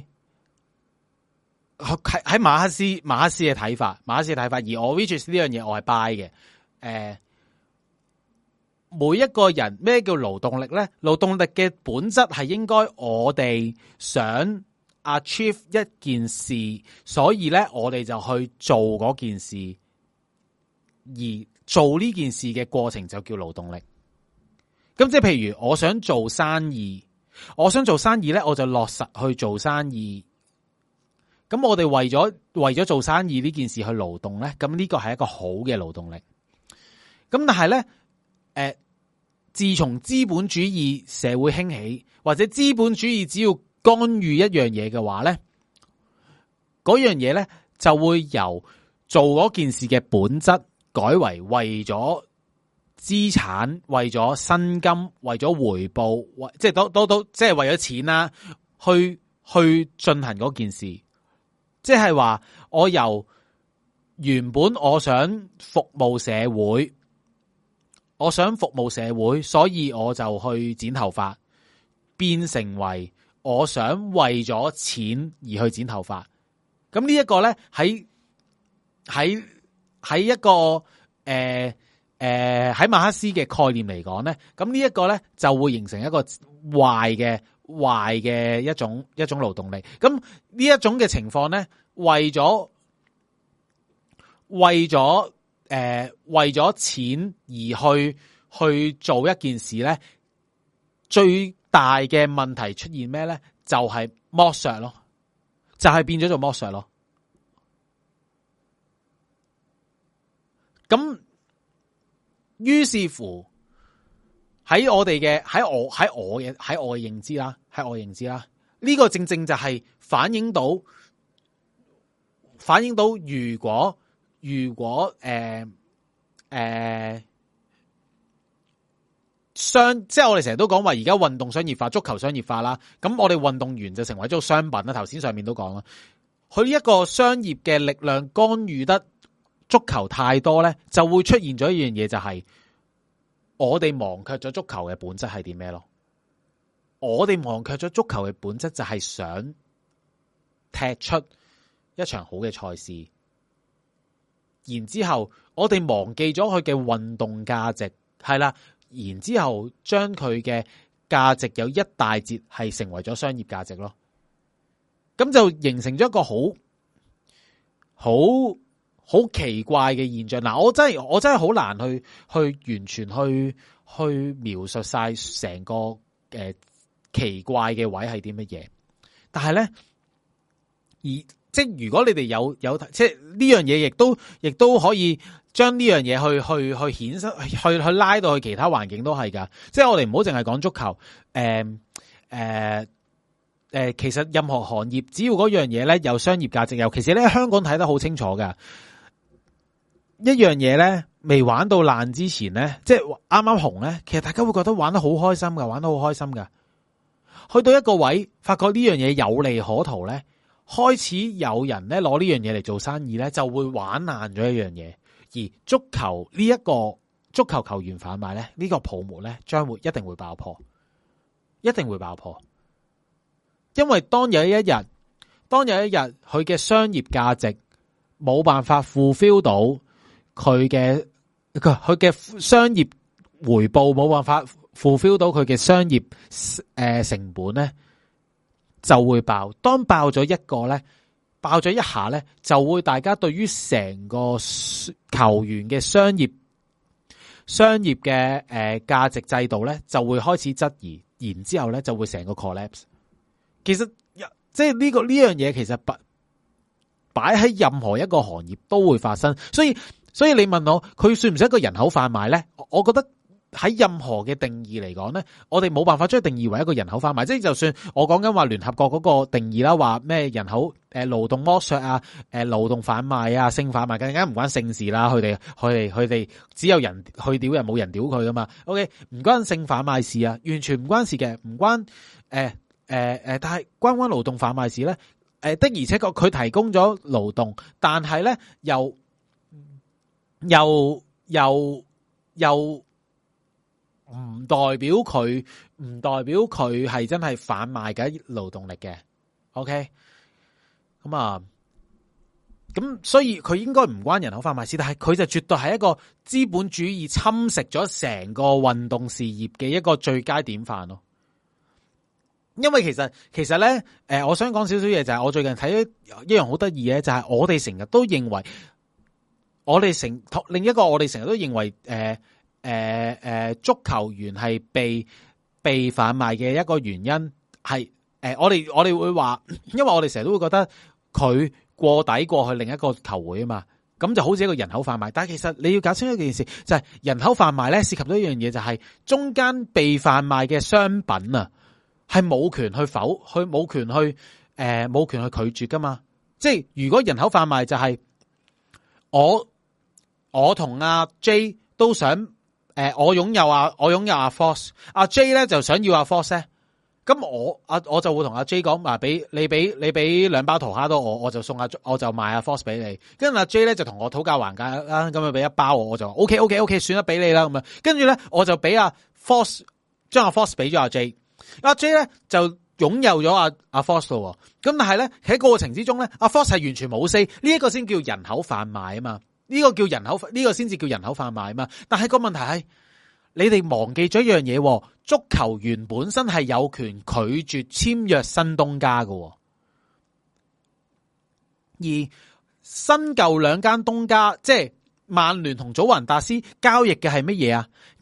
喺喺馬克思馬克思嘅睇法，馬克思嘅睇法，而我 which is 呢樣嘢我係 buy 嘅。誒，每一個人咩叫勞動力咧？勞動力嘅本質係應該我哋想achieve 一件事，所以咧我哋就去做嗰件事，而做呢件事嘅過程就叫勞動力。咁即係譬如我想做生意，我想做生意咧，我就落實去做生意。咁我哋為咗為咗做生意呢件事去勞動咧，咁呢個係一個好嘅勞動力。咁但係咧，誒、呃，自從資本主義社會興起，或者資本主義只要干預一樣嘢嘅話咧，嗰樣嘢咧就會由做嗰件事嘅本質改為為咗資產、為咗薪金、為咗回報，為即係都都都即係為咗錢啦，去去進行嗰件事。即係話我由原本我想服務社會，我想服務社會，所以我就去剪頭髮，變成為我想為咗錢而去剪頭髮。咁呢一個咧喺喺喺一個誒誒喺馬克思嘅概念嚟講咧，咁呢一個咧就會形成一個壞嘅壞嘅一種一種勞動力。咁呢一種嘅情況咧，為咗為咗誒、呃、為咗錢而去去做一件事咧，最大嘅問題出現咩咧？就係剝削咯，就係變咗做剝削咯。咁於是乎喺我哋嘅喺我喺我嘅喺我嘅認知啦，喺我嘅認知啦，呢個正正就係反映到反映到如果如果誒誒商，即係我哋成日都講話而家運動商業化、足球商業化啦，咁我哋運動員就成為咗商品啦。頭先上面都講啦，佢一個商業嘅力量干預得足球太多咧，就會出現咗一樣嘢，就係我哋忘卻咗足球嘅本質係點咩咯？我哋忘卻咗足球嘅本質就係想踢出一場好嘅賽事，然之後我哋忘記咗佢嘅運動價值，係啦，然之後將佢嘅價值有一大截係成為咗商業價值咯，咁就形成咗一個好好好奇怪嘅現象。嗱，我真係我真係好難去去完全去去描述晒成個誒、呃、奇怪嘅位係啲乜嘢，但係咧，而即係如果你哋有有即係呢樣嘢，亦都亦都可以將呢樣嘢去去去衍生去去拉到去其他環境都係噶。即係我哋唔好淨係講足球，誒誒誒，其實任何行業只要嗰樣嘢咧有商業價值，尤其是咧香港睇得好清楚噶。一樣嘢咧未玩到爛之前咧，即係啱啱紅咧，其實大家會覺得玩得好開心噶，玩得好開心噶。去到一個位，發覺呢樣嘢有利可圖咧，開始有人咧攞呢樣嘢嚟做生意咧，就會玩爛咗一樣嘢。而足球呢一個足球球員販賣咧，呢個泡沫咧，將會一定會爆破，一定會爆破。因為當有一日，當有一日佢嘅商業價值冇辦法 fulfill 到佢嘅佢佢嘅商業回報，冇辦法 fulfill 到佢嘅商業誒、呃、成本咧，就會爆。當爆咗一個咧，爆咗一下咧，就會大家對於成個球員嘅商業商業嘅誒價值制度咧，就會開始質疑，然之後咧就會成個 collapse。其實即係呢個呢樣嘢，其實擺擺喺任何一個行業都會發生。所以所以你問我佢算唔算一個人口販賣咧？我覺得喺任何嘅定義嚟講咧，我哋冇辦法將佢定義為一個人口販賣。即係就算我講緊話聯合國嗰個定義啦，話咩人口誒勞動剝削啊，誒勞動販賣啊，性販賣，更加唔關性事啦。佢哋佢哋佢哋只有人去屌人，冇人屌佢噶嘛。OK， 唔關性販賣事啊，完全唔關事嘅，唔關誒。呃誒、呃、誒，但係關唔關勞動販賣事咧？誒、呃、的而且確佢提供咗勞動，但係咧又又又又唔代表佢唔代表佢係真係販賣緊勞動力嘅。OK，咁啊，咁所以佢應該唔關人口販賣事，但係佢就絕對係一個資本主義侵蝕咗成個運動事業嘅一個最佳典範咯。因為其實其實咧，誒、呃，我想講少少嘢，就係我最近睇咗一樣好得意嘅，就係、是、我哋成日都認為，我哋成另一個我哋成日都認為，誒誒誒，足球員係被被販賣嘅一個原因係，誒、呃，我哋我哋會話，因為我哋成日都會覺得佢過底過去另一個球會啊嘛，咁就好似一個人口販賣。但係其實你要搞清楚一件事，就係、是、人口販賣咧涉及到一樣嘢，就係中間被販賣嘅商品啊。係冇權去否，佢冇權去誒，冇、呃、權去拒絕噶嘛。即係如果人口販賣就係我我同阿 J 都想誒、呃，我擁有啊，我擁有阿 Force， 阿 J 咧就想要阿 Force 咧，咁我阿我就會同阿 J 講，話俾你俾你俾兩包桃蝦到我，我就送阿我就賣阿 Force 俾你。跟住阿 J 咧就同我討價還價啦，咁啊俾一包我，我就 OK OK OK，算啦俾你啦咁樣。跟住咧我就俾阿 Force 將阿 Force 俾咗阿 J。阿 J 咧就擁有咗阿阿 Force 咯，咁但係咧喺過程之中咧，阿 Force 係完全冇 say，呢一個先叫人口販賣啊嘛，呢、這個叫人口呢、這個先至叫人口販賣啊嘛。但係個問題係，你哋忘記咗一樣嘢，足球員本身係有權拒絕簽約新東家嘅，而新舊兩間東家，即係曼聯同祖雲達斯交易嘅係乜嘢啊？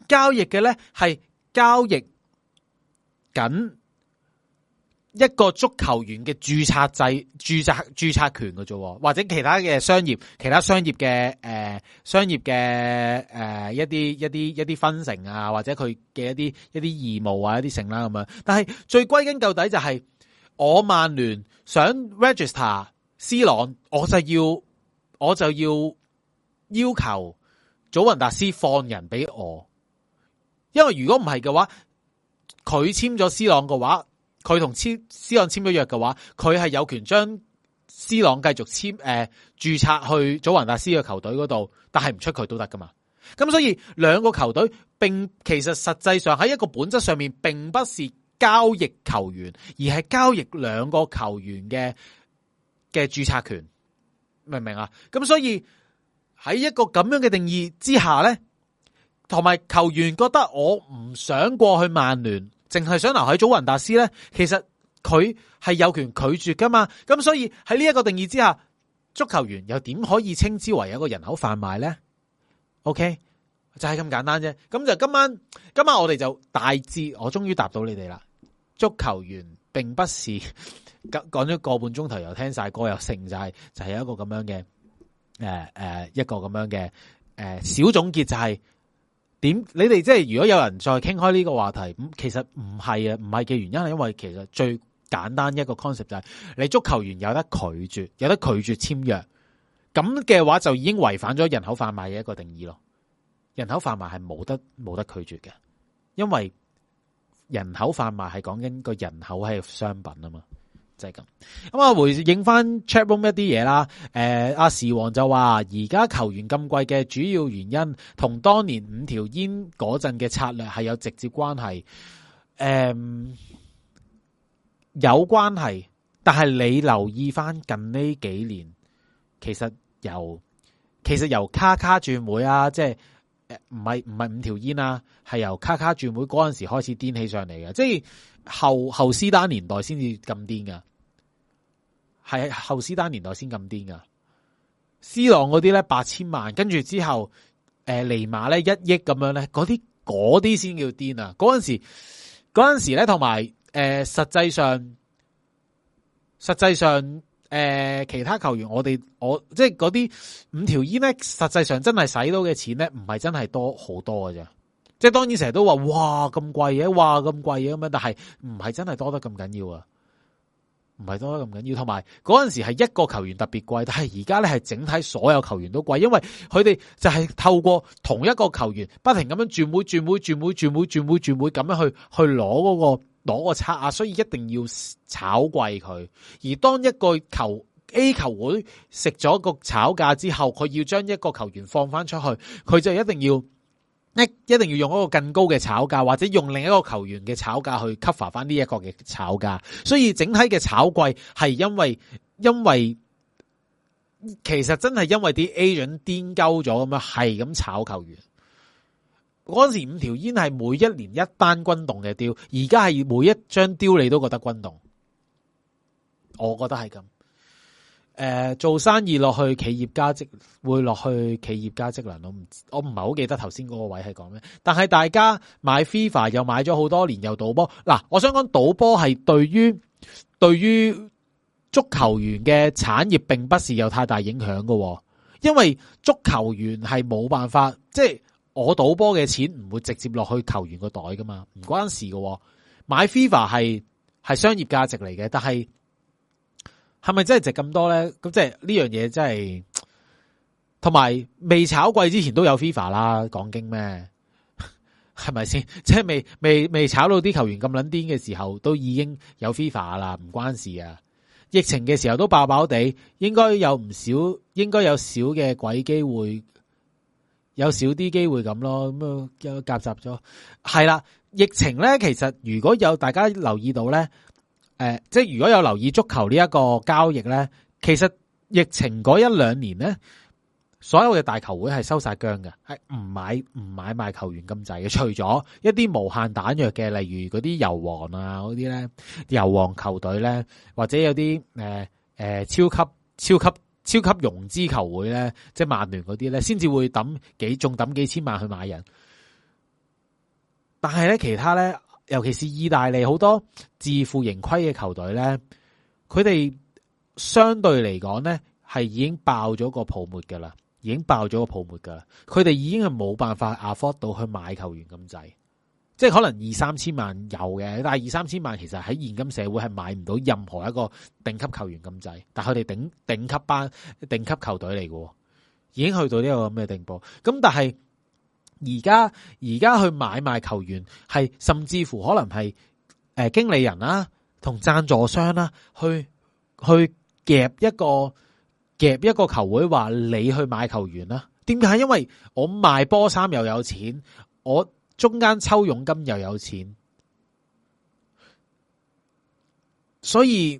交易嘅咧係交易緊一個足球員嘅註冊制、註冊註冊權嘅啫，或者其他嘅商業、其他商業嘅誒、呃、商業嘅誒、呃、一啲一啲一啲分成啊，或者佢嘅一啲一啲義務啊，一啲成啦咁樣。但係最歸根究底就係、是、我曼聯想 register C 朗，我就要我就要要求祖雲達斯放人俾我，因為如果唔係嘅話，佢簽咗 C 朗嘅話。佢同 C 朗簽咗約嘅話，佢係有權將 C 朗繼續簽誒註冊去祖雲達斯嘅球隊嗰度，但係唔出佢都得噶嘛。咁所以兩個球隊並其實實際上喺一個本質上面並不是交易球員，而係交易兩個球員嘅嘅註冊權，明唔明啊？咁所以喺一個咁樣嘅定義之下咧，同埋球員覺得我唔想過去曼聯。淨係想留喺祖雲達斯咧，其實佢係有權拒絕噶嘛。咁所以喺呢一個定義之下，足球員又點可以稱之為一個人口販賣咧 ？OK，就係咁簡單啫。咁就今晚，今晚我哋就大致，我終於答到你哋啦。足球員並不是講咗個半鐘頭又聽晒歌又剩，就係、是、就係、是、一個咁樣嘅誒誒一個咁樣嘅誒、呃、小總結就係、是。點？你哋即係如果有人再傾開呢個話題，咁其實唔係啊，唔係嘅原因係因為其實最簡單一個 concept 就係你足球員有得拒絕，有得拒絕簽約，咁嘅話就已經違反咗人口販賣嘅一個定義咯。人口販賣係冇得冇得拒絕嘅，因為人口販賣係講緊個人口係商品啊嘛。就係咁，咁啊回應翻 chat room 一啲嘢啦。誒、呃，阿時王就話而家球員咁貴嘅主要原因，同當年五條煙嗰陣嘅策略係有直接關係。誒、呃，有關係，但係你留意翻近呢幾年，其實由其實由卡卡轉會啊，即係誒唔係唔係五條煙啊，係由卡卡轉會嗰陣時開始癲起上嚟嘅，即係。後後斯丹年代先至咁癲噶，係後斯丹年代先咁癲噶。C 朗嗰啲咧八千萬，跟住之後誒尼馬咧一億咁樣咧，嗰啲嗰啲先叫癲啊！嗰陣時嗰陣時咧，同埋誒實際上實際上誒、呃、其他球員我，我哋我即係嗰啲五條煙咧，實際上真係使到嘅錢咧，唔係真係多好多嘅啫。即係當然成日都話哇咁貴嘢，哇咁貴嘢咁樣，但係唔係真係多得咁緊要啊，唔係多得咁緊要。同埋嗰陣時係一個球員特別貴，但係而家咧係整體所有球員都貴，因為佢哋就係透過同一個球員不停咁樣轉會、轉會、轉會、轉會、轉會、轉會咁樣去去攞嗰個攞個差額，所以一定要炒貴佢。而當一個球 A 球會食咗個炒價之後，佢要將一個球員放翻出去，佢就一定要。一一定要用一個更高嘅炒價，或者用另一個球員嘅炒價去 cover 翻呢一個嘅炒價，所以整體嘅炒貴係因為因為其實真係因為啲 agent 癲鳩咗咁樣係咁炒球員。嗰陣時五條煙係每一年一單轟動嘅雕，而家係每一張雕你都覺得轟動，我覺得係咁。誒、呃，做生意落去企業家職會落去企業家職能，我唔我唔係好記得頭先嗰個位係講咩，但係大家買 FIFA 又買咗好多年又賭波，嗱，我想講賭波係對於對於足球員嘅產業並不是有太大影響㗎，因為足球員係冇辦法，即係我賭波嘅錢唔會直接落去球員個袋噶嘛，唔關事㗎，買 FIFA 係係商業價值嚟嘅，但係。係咪真係值咁多咧？咁即係呢樣嘢真係，同埋未炒貴之前都有 FIFA 啦，講經咩？係咪先？即係未未未炒到啲球員咁撚癲嘅時候，都已經有 FIFA 啦，唔關事啊！疫情嘅時候都爆爆地，應該有唔少，應該有少嘅鬼機會，有少啲機會咁咯。咁啊，夾雜咗係啦。疫情咧，其實如果有大家留意到咧。誒、呃，即係如果有留意足球呢一個交易咧，其實疫情嗰一兩年咧，所有嘅大球會係收晒姜嘅，係唔買唔買賣球員咁滯嘅，除咗一啲無限彈藥嘅，例如嗰啲油王啊嗰啲咧，油王球隊咧，或者有啲誒誒超級超級超級融資球會咧，即係曼聯嗰啲咧，先至會抌幾仲抌幾千萬去買人。 但係咧其他咧，尤其是意大利好多自負盈虧嘅球隊咧，佢哋相對嚟講咧係已經爆咗個泡沫噶啦，已經爆咗個泡沫噶啦，佢哋已經係冇辦法 afford 到去買球員咁滯。即係可能二三千萬有嘅，但係二三千萬其實喺現今社會係買唔到任何一個頂級球員咁滯。但係佢哋頂頂級班、頂級球隊嚟嘅，已經去到呢個咁嘅地步。咁但係而家而家去買賣球員，係甚至乎可能係誒、呃、經理人啦，同贊助商啦，去去夾一個夾一個球會，話你去買球員啦。點解？因為我賣波衫又有錢，我中間抽佣金又有錢，所以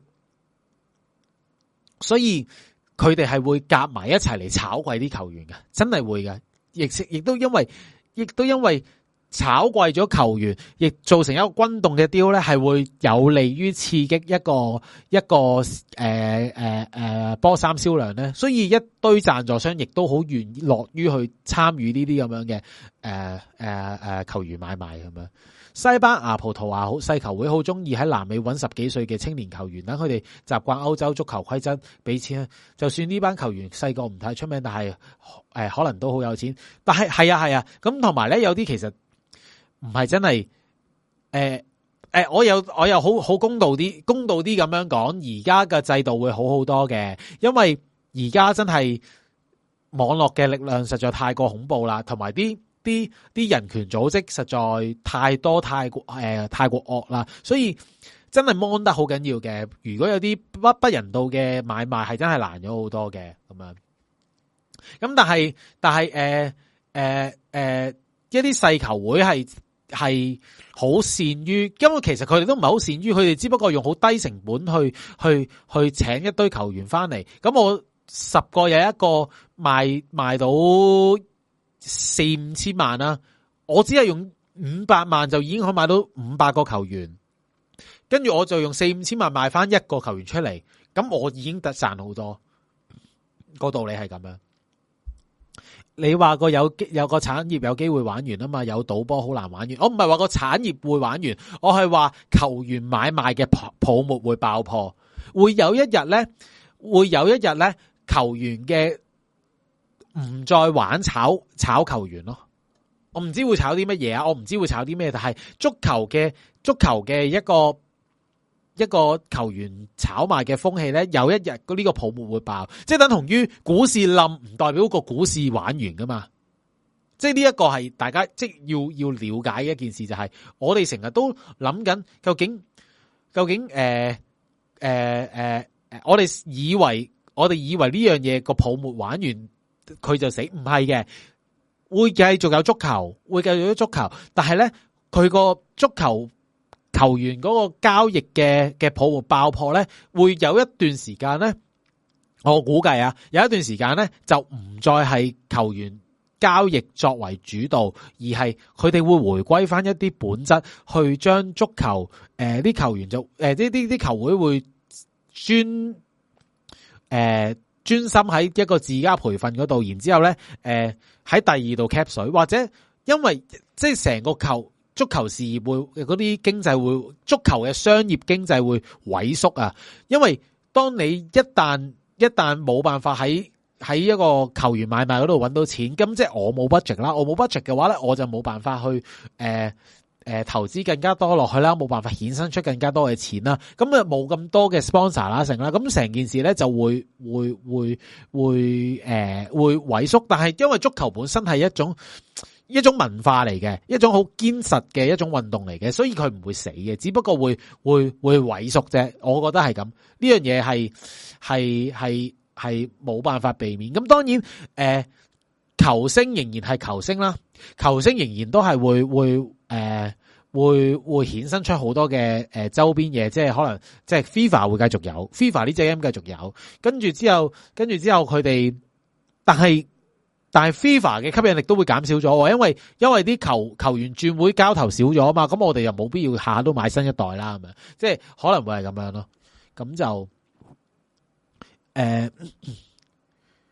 所以佢哋係會夾埋一齊嚟炒貴啲球員嘅，真係會嘅。亦亦都因為亦都因為炒貴咗球員，亦造成一個轟動嘅 deal 咧，係會有利於刺激一個一個誒誒誒波衫銷量咧。所以一堆贊助商亦都好願意樂於去參與呢啲咁樣嘅誒誒誒球員買賣咁樣。西班牙、葡萄牙好細球會好中意喺南美揾十幾歲嘅青年球員，等佢哋習慣歐洲足球規則，俾錢。就算呢班球員細個唔太出名，但係誒、呃、可能都好有錢。但係係啊係啊，咁同埋咧有啲其實唔係真係誒誒，我有我又好好公道啲，公道啲咁樣講，而家嘅制度會好好多嘅，因為而家真係網絡嘅力量實在太過恐怖啦，同埋啲。啲啲人權組織實在太多太過誒、呃、太過惡啦，所以真係 mon 得好緊要嘅。如果有啲不不人道嘅買賣，係真係難咗好多嘅咁樣。咁但係但係誒誒誒一啲細球會係係好善於，因為其實佢哋都唔係好善於，佢哋只不過用好低成本去去去請一堆球員翻嚟。咁我十個有一個賣賣到四五千萬啦，我只係用五百萬就已經可以買到五百個球員，跟住我就用四五千萬賣翻一個球員出嚟，咁我已經得賺好多。個道理係咁樣。你話個有有個產業有機會玩完啊嘛，有賭波好難玩完。我唔係話個產業會玩完，我係話球員買賣嘅泡沫會爆破，會有一日咧，會有一日咧，球員嘅。唔再玩炒炒球員咯，我唔知會炒啲乜嘢啊，我唔知會炒啲咩，但係足球嘅足球嘅一個一個球員炒賣嘅風氣咧，有一日呢個泡沫會爆，即係等同於股市冧，唔代表個股市玩完噶嘛，即係呢一個係大家即係要要了解嘅一件事，就係我哋成日都諗緊究竟究竟誒誒誒誒，我哋以為我哋以為呢樣嘢個泡沫玩完。佢就死，唔係嘅，會繼續有足球，會繼續有足球，但係咧，佢個足球球員嗰個交易嘅嘅泡沫爆破咧，會有一段時間咧，我估計啊，有一段時間咧就唔再係球員交易作為主導，而係佢哋會回歸翻一啲本質，去將足球誒啲、呃、球員就誒呢啲啲球會會專誒。呃專心喺一個自家培訓嗰度，然之後咧，誒、呃、喺第二度 cap 水，或者因為即係成個球足球事業會嗰啲經濟會足球嘅商業經濟會萎縮啊！因為當你一旦一旦冇辦法喺喺一個球員買賣嗰度揾到錢，咁即係我冇 budget 啦，我冇 budget 嘅話咧，我就冇辦法去誒。呃誒、呃，投資更加多落去啦，冇辦法衍生出更加多嘅錢啦，咁啊冇咁多嘅 sponsor 啦，成啦，咁成件事咧就會會會會誒、呃、會萎縮。但係因為足球本身係一種一種文化嚟嘅，一種好堅實嘅一種運動嚟嘅，所以佢唔會死嘅，只不過會會會萎縮啫。我覺得係咁，呢樣嘢係係係係冇辦法避免。咁當然誒、呃，球星仍然係球星啦，球星仍然都係會會。誒、呃，會會衍生出好多嘅誒、呃、周邊嘢，即係可能即係 FIFA 會繼續有 FIFA 呢隻 game 繼續有，跟住之後跟住之後佢哋，但係但係 FIFA 嘅吸引力都會減少咗，因為因為啲球球員轉會交投少咗啊嘛，咁我哋又冇必要下下都買新一代啦，係咪？即係可能會係咁樣咯，咁就誒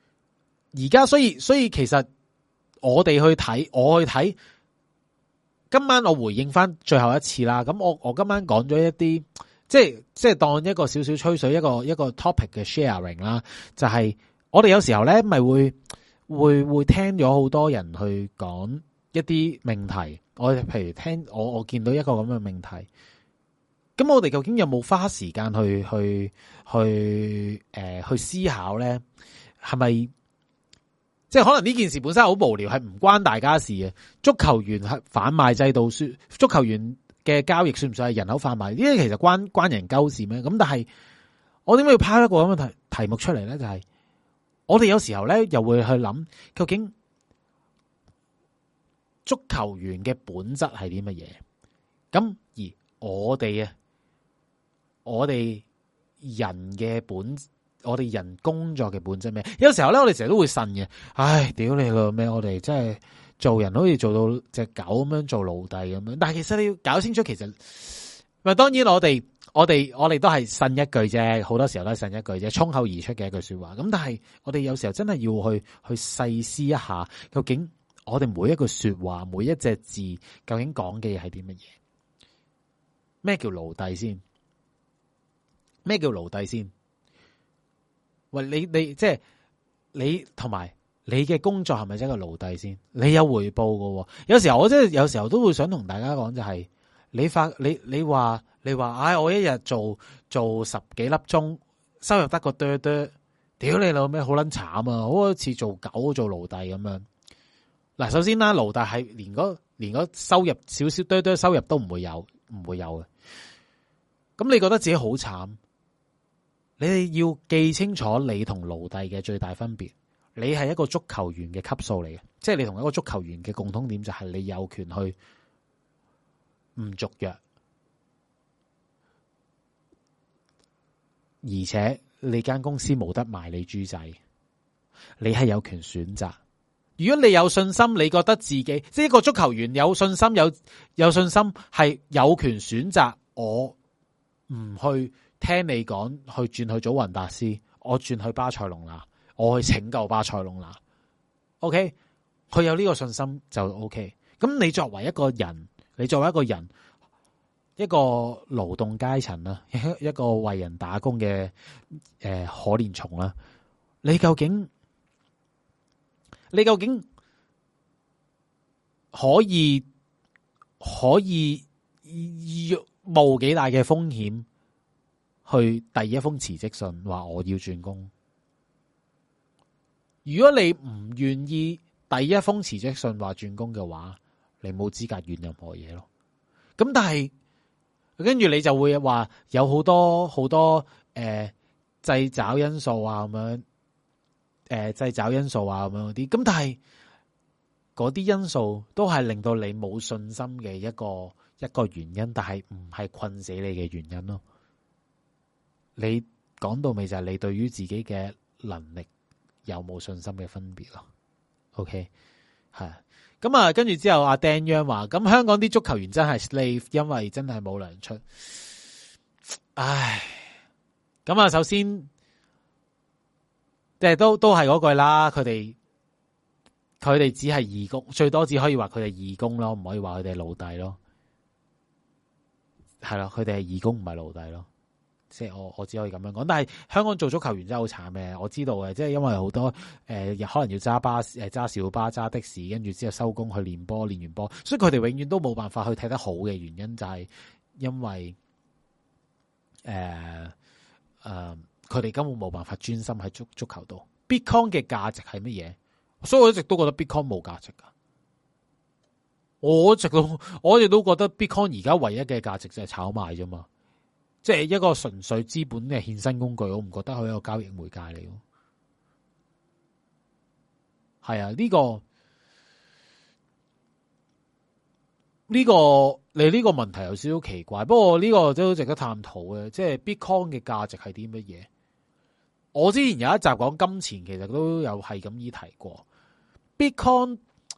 而家所以所以其實我哋去睇，我去睇。 今晚我回應翻最後一次啦。咁我我今晚講咗一啲，即係即係當一個少少吹水，一個一個 topic 嘅 sharing 啦。就係、是、我哋有時候咧，咪會會會聽咗好多人去講一啲命題。我譬如聽我我見到一個咁嘅命題，咁我哋究竟有冇花時間去去去誒、呃、去思考咧？係咪？即係可能呢件事本身好無聊，係唔關大家事嘅。足球員係販賣制度，算足球員嘅交易算唔算係人口販賣？呢啲其實關關人鳩事咩？咁但係我點解要拋一個咁嘅題題目出嚟咧？就係、是、我哋有時候咧又會去諗，究竟足球員嘅本質係啲乜嘢？咁而我哋啊，我哋人嘅本。我哋人工作嘅本質咩？有時候咧，我哋成日都會呻嘅。唉，屌你老咩！我哋真係做人好似做到隻狗咁樣做奴隸咁樣。但係其實你要搞清楚，其實咪當然我哋我哋我哋都係呻一句啫。好多時候都係呻一句啫，衝口而出嘅一句說話。咁但係我哋有時候真係要去去細思一下，究竟我哋每一句說話，每一隻字，究竟講嘅嘢係啲乜嘢？咩叫奴隸先？咩叫奴隸先？喂，你你即係你同埋你嘅工作係咪真係個奴隸先？你有回報㗎喎。有時候我真係有時候都會想同大家講，就係你發你你話你話，唉，我一日做做十幾粒鐘，收入得個哚哚，屌你老咩，好撚慘啊！好似做狗做奴隸咁樣。嗱，首先啦，奴隸係連嗰連嗰收入少少哚哚收入都唔會有，唔會有嘅。咁你覺得自己好慘？你哋要記清楚，你同奴隸嘅最大分別，你係一個足球員嘅級數嚟嘅，即係你同一個足球員嘅共通點就係你有權去唔續約，而且你間公司冇得賣你豬仔，你係有權選擇。如果你有信心，你覺得自己即係一個足球員有信心，有有信心係有權選擇，我唔去。聽你講去轉去祖雲達斯，我轉去巴塞隆拿，我去拯救巴塞隆拿。OK，佢有呢個信心就 OK。咁你作為一個人，你作為一個人，一個勞動階層啦，一個為人打工嘅誒、呃、可憐蟲啦，你究竟你究竟可以可以冒幾大嘅風險？去第一封辭職信話我要轉工。如果你唔願意第一封辭職信話轉工嘅話，你冇資格怨任何嘢咯。咁但係跟住你就會話有好多好多誒掣肘因素啊咁樣，誒掣肘因素啊咁樣嗰啲。咁但係嗰啲因素都係令到你冇信心嘅一個一個原因，但係唔係困死你嘅原因咯。你講到尾就係你對於自己嘅能力有冇信心嘅分別咯。OK， 係咁啊，跟住之後阿 Dan Young 話，咁香港啲足球員真係 slave， 因為真係冇糧出。唉，咁啊，首先即係都都係嗰句啦，佢哋佢哋只係義工，最多只可以話佢哋義工咯，唔可以話佢哋係奴隸咯。係咯，佢哋係義工，唔係奴隸咯。即係我我只可以咁樣講，但係香港做足球員真係好慘嘅，我知道嘅，即係因為好多誒、呃，可能要揸巴士、誒揸小巴、揸的士，跟住之後收工去練波，練完波，所以佢哋永遠都冇辦法去踢得好嘅原因就係因為誒誒，佢、呃、哋、呃、根本冇辦法專心喺足足球度。Bitcoin 嘅價值係乜嘢？所以我一直都覺得 Bitcoin 冇價值噶。我一直都我一直都覺得 Bitcoin 而家唯一嘅價值就係炒賣啫嘛。即係一個純粹資本嘅衍生工具，我唔覺得佢係一個交易媒介嚟咯。係啊，呢、這個呢、這個你呢個問題有少少奇怪，不過呢個都值得探討嘅。即係 Bitcoin 嘅價值係啲乜嘢？我之前有一集講金錢，其實都有係咁依提過 Bitcoin。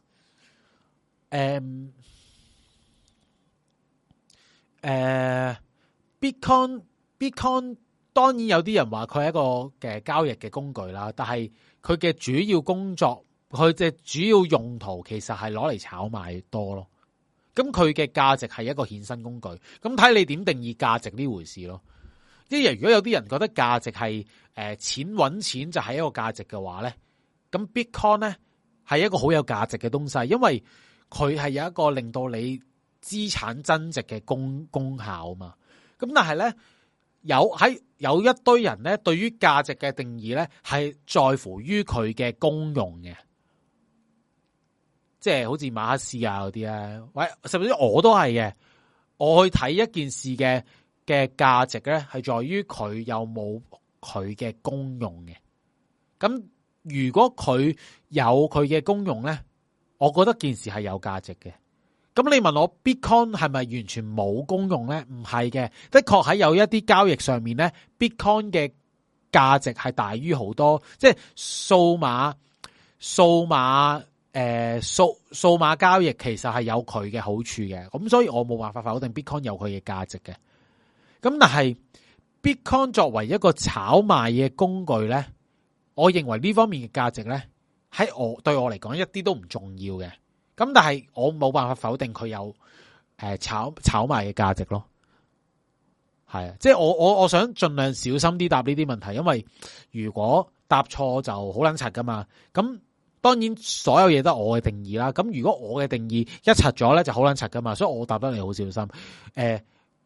誒誒。Bitcoin Bitcoin 當然有啲人話佢係一個嘅交易嘅工具啦，但係佢嘅主要工作，佢嘅主要用途其實係攞嚟炒賣多咯。 咁佢嘅價值係一個衍生工具，咁睇你點定義價值呢回事咯。即係如果有啲人覺得價值係誒、呃、錢揾錢就係一個價值嘅話咧，咁 Bitcoin 咧係一個好有價值嘅東西，因為佢係有一個令到你資產增值嘅功功效啊嘛。咁但係咧有喺有一堆人咧對於價值嘅定義咧係在乎於佢嘅功用嘅。即係好似馬克思啊嗰啲咧，喂，甚至我都係嘅。我去睇一件事嘅嘅價值咧，係在於佢有冇佢嘅功用嘅。咁如果佢有佢嘅功用咧，我覺得件事係有價值嘅。咁你問我 Bitcoin 係咪完全冇功用咧？唔係嘅，的確喺有一啲交易上面咧 ，Bitcoin 嘅價值係大於好多，即係數碼數碼。誒，數數碼交易其實係有佢嘅好處嘅，咁所以我冇辦法否定 Bitcoin 有佢嘅價值嘅。咁但係 Bitcoin 作為一個炒賣嘅工具咧，我認為呢方面嘅價值咧，喺我對我嚟講一啲都唔重要嘅。咁但係我冇辦法否定佢有誒炒炒賣嘅價值咯。係啊，即係我我我想盡量小心啲答呢啲問題，因為如果答錯就好撚柒噶嘛。咁當然所有嘢都係我嘅定義啦，咁如果我嘅定義一柒咗咧，就好撚柒噶嘛，所以我答得你好小心。誒、呃、誒、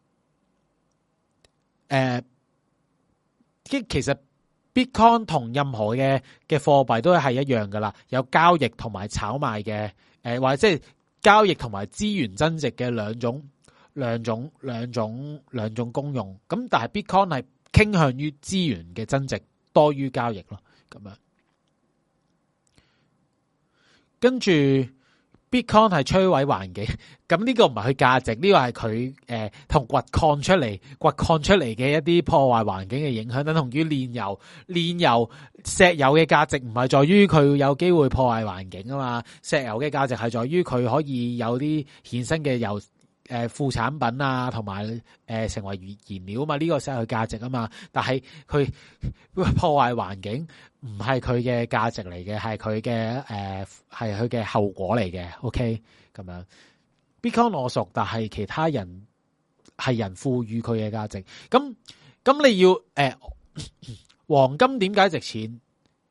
呃，即其實 Bitcoin 同任何嘅嘅貨幣都係一樣噶啦，有交易同埋炒賣嘅，誒、呃、或者即係交易同埋資源增值嘅兩種兩種兩種兩種功用。咁但係 Bitcoin 係傾向於資源嘅增值多於交易咯，咁樣。跟住 Bitcoin 係摧毀環境，咁呢個唔係佢價值，呢、這個係佢誒同掘礦出嚟掘礦出嚟嘅一啲破壞環境嘅影響，等同於煉油煉油石油嘅價值唔係在於佢有機會破壞環境啊嘛，石油嘅價值係在於佢可以有啲衍生嘅油誒副產品啊，同埋誒成為燃料啊嘛，呢、這個先係佢價值啊嘛，但係佢破壞環境。唔係佢嘅價值嚟嘅，係佢嘅誒，係佢嘅後果嚟嘅。OK， 咁樣 Bitcoin 我熟，但係其他人係人賦予佢嘅價值。咁咁你要誒、呃，黃金點解值錢？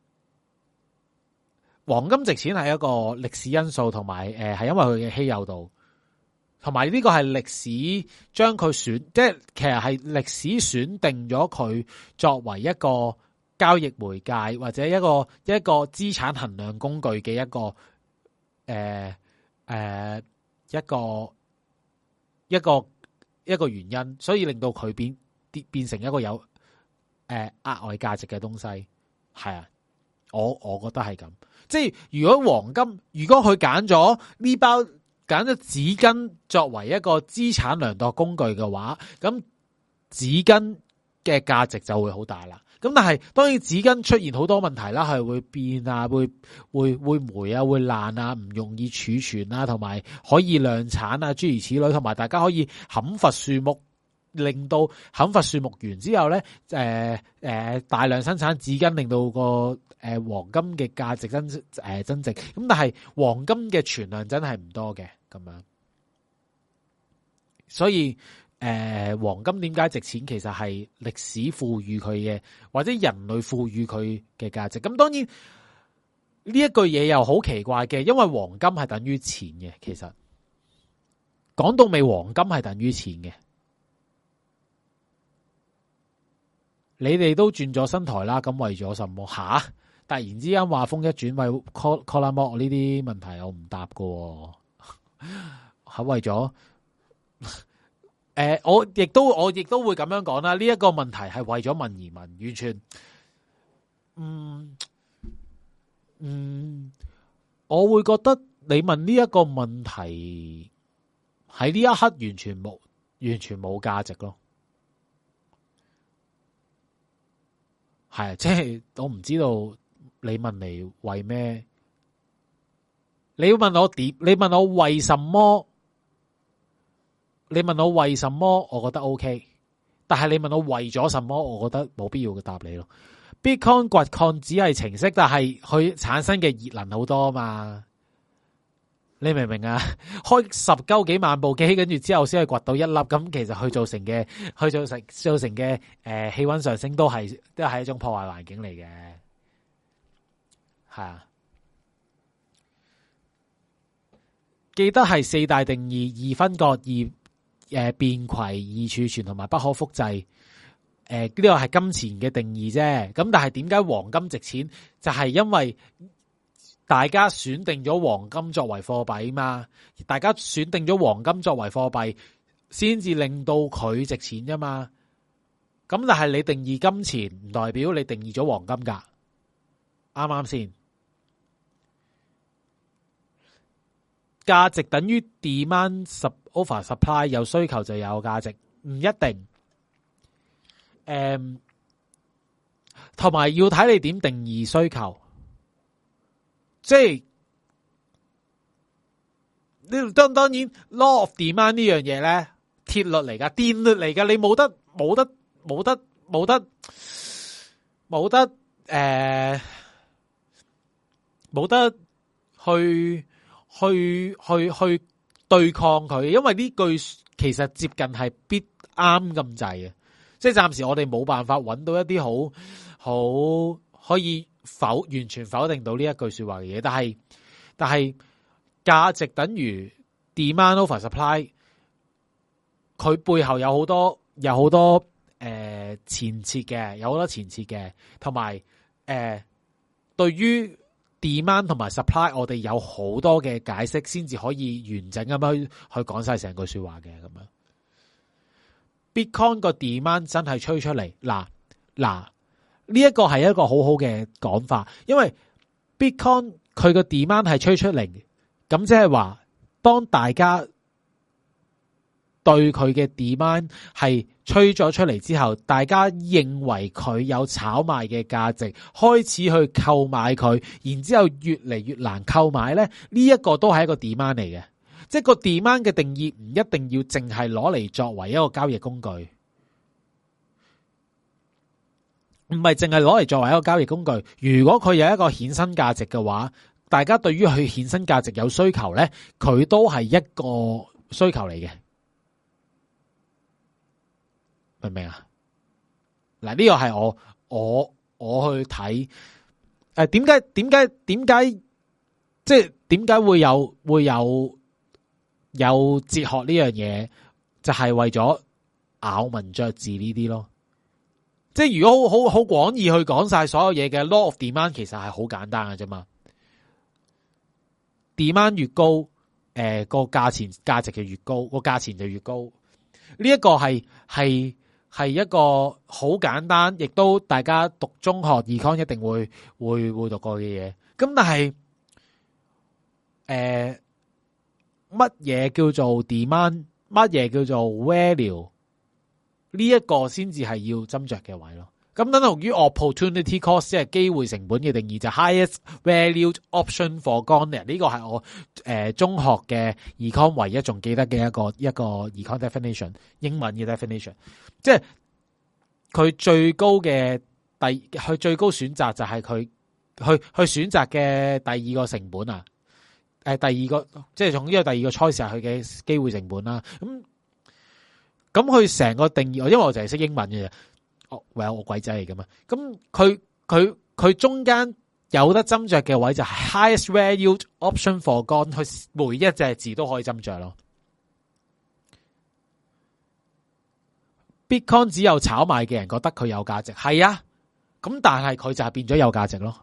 黃金值錢係一個歷史因素，同埋誒係因為佢嘅稀有度，同埋呢個係歷史將佢選，即係其實係歷史選定咗佢作為一個交易媒介或者一個一個資產衡量工具嘅一個誒誒、呃呃、一個一個一個原因，所以令到佢變變成一個有誒、呃、額外價值嘅東西。係啊，我我覺得係咁。即係如果黃金，如果佢揀咗呢包揀咗紙巾作為一個資產量度工具嘅話，咁紙巾嘅價值就會好大啦。咁但係當然紙巾出現好多問題啦，係會變啊，會會會霉啊，會爛啊，唔容易儲存啊，同埋可以量產啊，諸如此類，同埋大家可以砍伐樹木，令到砍伐樹木完之後咧，誒、呃、誒、呃、大量生產紙巾，令到個誒、呃、黃金嘅價值增誒、呃、增值。咁但係黃金嘅存量真係唔多嘅，咁樣，所以。誒、呃，黃金點解值錢？其實係歷史賦予佢嘅，或者人類賦予佢嘅價值。咁當然呢一句嘢又好奇怪嘅，因為黃金係等於錢嘅。其實講到尾，黃金係等於錢嘅。你哋都轉咗新台啦，咁為咗什麼？吓！突然之間話風一轉，為 call call 摩呢啲問題我唔答㗎，係為咗。誒、呃，我亦都我亦都會咁樣講啦。呢、這、一個問題係為咗問而問，完全，嗯嗯，我會覺得你問呢一個問題喺呢一刻完全冇完全冇價值咯。係，即係我唔知道你問嚟為咩？你要問我點？你問我為什麼？你問我為什麼，我覺得 OK， 但係你問我為咗什麼，我覺得冇必要嘅答你咯。Bitcoin 掘礦只係程式，但係佢產生嘅熱能好多嘛。 你明唔明啊？開十鳩幾萬部機，跟住之後先係掘到一粒，咁其實佢造成嘅，佢造成造成嘅誒氣溫上升都係都係一種破壞環境嚟嘅，係啊。記得係四大定義：二分割、二誒、呃、便攜、二儲存同埋不可複製。誒、呃，呢個係金錢嘅定義啫。咁但係點解黃金值錢？就係、是、因為大家選定咗黃金作為貨幣嘛。大家選定咗黃金作為貨幣，先至令到佢值錢啫嘛。咁但係你定義金錢，唔代表你定義咗黃金噶。啱啱先？價值等於 demand over supply， 有需求就有價值，唔一定。誒、嗯，同埋要睇你點定義需求，即係呢當當然 law of demand 呢樣嘢咧，鐵律嚟噶，電律嚟噶，你冇得冇得冇得冇得冇得誒冇得去。去去去對抗佢，因為呢句其實接近係必啱咁滯嘅，即係暫時我哋冇辦法揾到一啲好好可以否完全否定到呢一句說話嘅嘢。但係但係價值等於 demand over supply， 佢背後有好多有好多誒、呃、前設嘅，有好多前設嘅，同埋誒對於。demand 同埋 supply， 我哋有好多嘅解釋，先至可以完整咁樣去講晒成句說話嘅咁樣。Bitcoin 個 demand 真係吹出嚟，嗱嗱呢一個係一個好好嘅講法，因為 Bitcoin 佢個 demand 係吹出嚟，咁即係話當大家對佢嘅 demand 係吹咗出嚟之後，大家認為佢有炒賣嘅價值，開始去購買佢，然之後越嚟越難購買咧。呢一個都係一個 demand 嚟嘅，即係個 demand 嘅定義唔一定要淨係攞嚟作為一個交易工具，唔係淨係攞嚟作為一個交易工具。如果佢有一個衍生價值嘅話，大家對於佢衍生價值有需求咧，佢都係一個需求嚟嘅。明唔明啊？嗱，呢個係我我我去睇誒，點解點解點解即係點解會有會有有哲學呢樣嘢？就係為咗咬文嚼字呢啲咯。即係如果好好好廣義去講晒所有嘢嘅 law of demand， 其實係好簡單嘅啫嘛。demand 越高，誒個價錢價值就越高，個價錢就越高。呢一個係係。係一個好簡單，亦都大家讀中學 econ 一定會會會讀過嘅嘢。咁但係誒乜嘢叫做 demand， 乜嘢叫做 value？ 呢一個先至係要斟酌嘅位咯。咁等同於 opportunity cost， 即係機會成本嘅定義就 highest valued option foregone。呢個係我誒、呃、中學嘅 econ 唯一仲記得嘅一個一個 econ definition， 英文嘅 definition， 即係佢最高嘅第佢最高選擇就係佢去去選擇嘅第二個成本啊，誒、呃、第二個即係從呢個第二個 choice 係佢嘅機會成本啦。咁咁佢成個定義，因為我就係識英文嘅。哦，喂，我鬼仔嚟噶嘛？咁佢佢佢中間有得斟酌嘅位就係 highest valued option foregone， 佢每一隻字都可以斟酌咯。Bitcoin 只有炒賣嘅人覺得佢有價值，係啊，咁但係佢就係變咗有價值咯。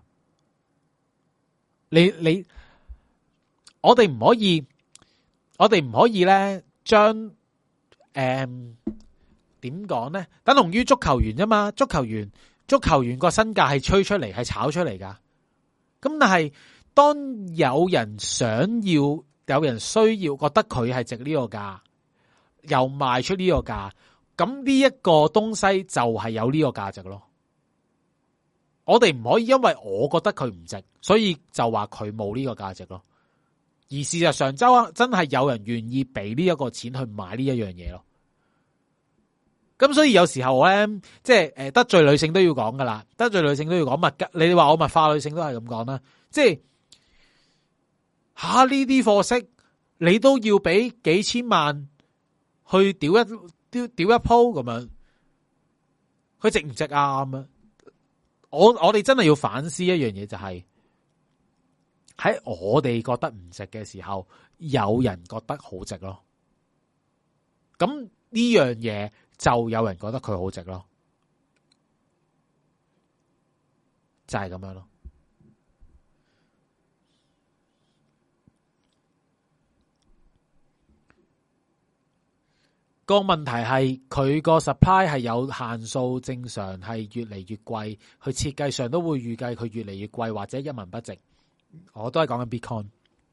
你你，我哋唔可以，我哋唔可以咧將誒。嗯點講咧？等同於足球員啫嘛，足球員足球員個身價係吹出嚟，係炒出嚟噶。咁但係當有人想要，有人需要，覺得佢係值呢個價，又賣出呢個價，咁呢一個東西就係有呢個價值咯。我哋唔可以因為我覺得佢唔值，所以就話佢冇呢個價值咯。而事實上，周真係有人願意俾呢一個錢去買呢一樣嘢咯。咁所以有時候咧，即係誒得罪女性都要講噶啦，得罪女性都要講物，你哋話我物化女性都係咁講啦，即係吓呢啲貨色，你都要俾幾千萬去屌一屌屌一鋪咁樣，佢值唔值啊？咁啊，我我哋真係要反思一樣嘢，就係喺我哋覺得唔值嘅時候，有人覺得好值咯。咁呢樣嘢就有人覺得佢好值咯，就係咁樣咯。個問題係佢個 supply 係有限數，正常係越嚟越貴，佢設計上都會預計佢越嚟越貴，或者一文不值。我都係講緊 Bitcoin，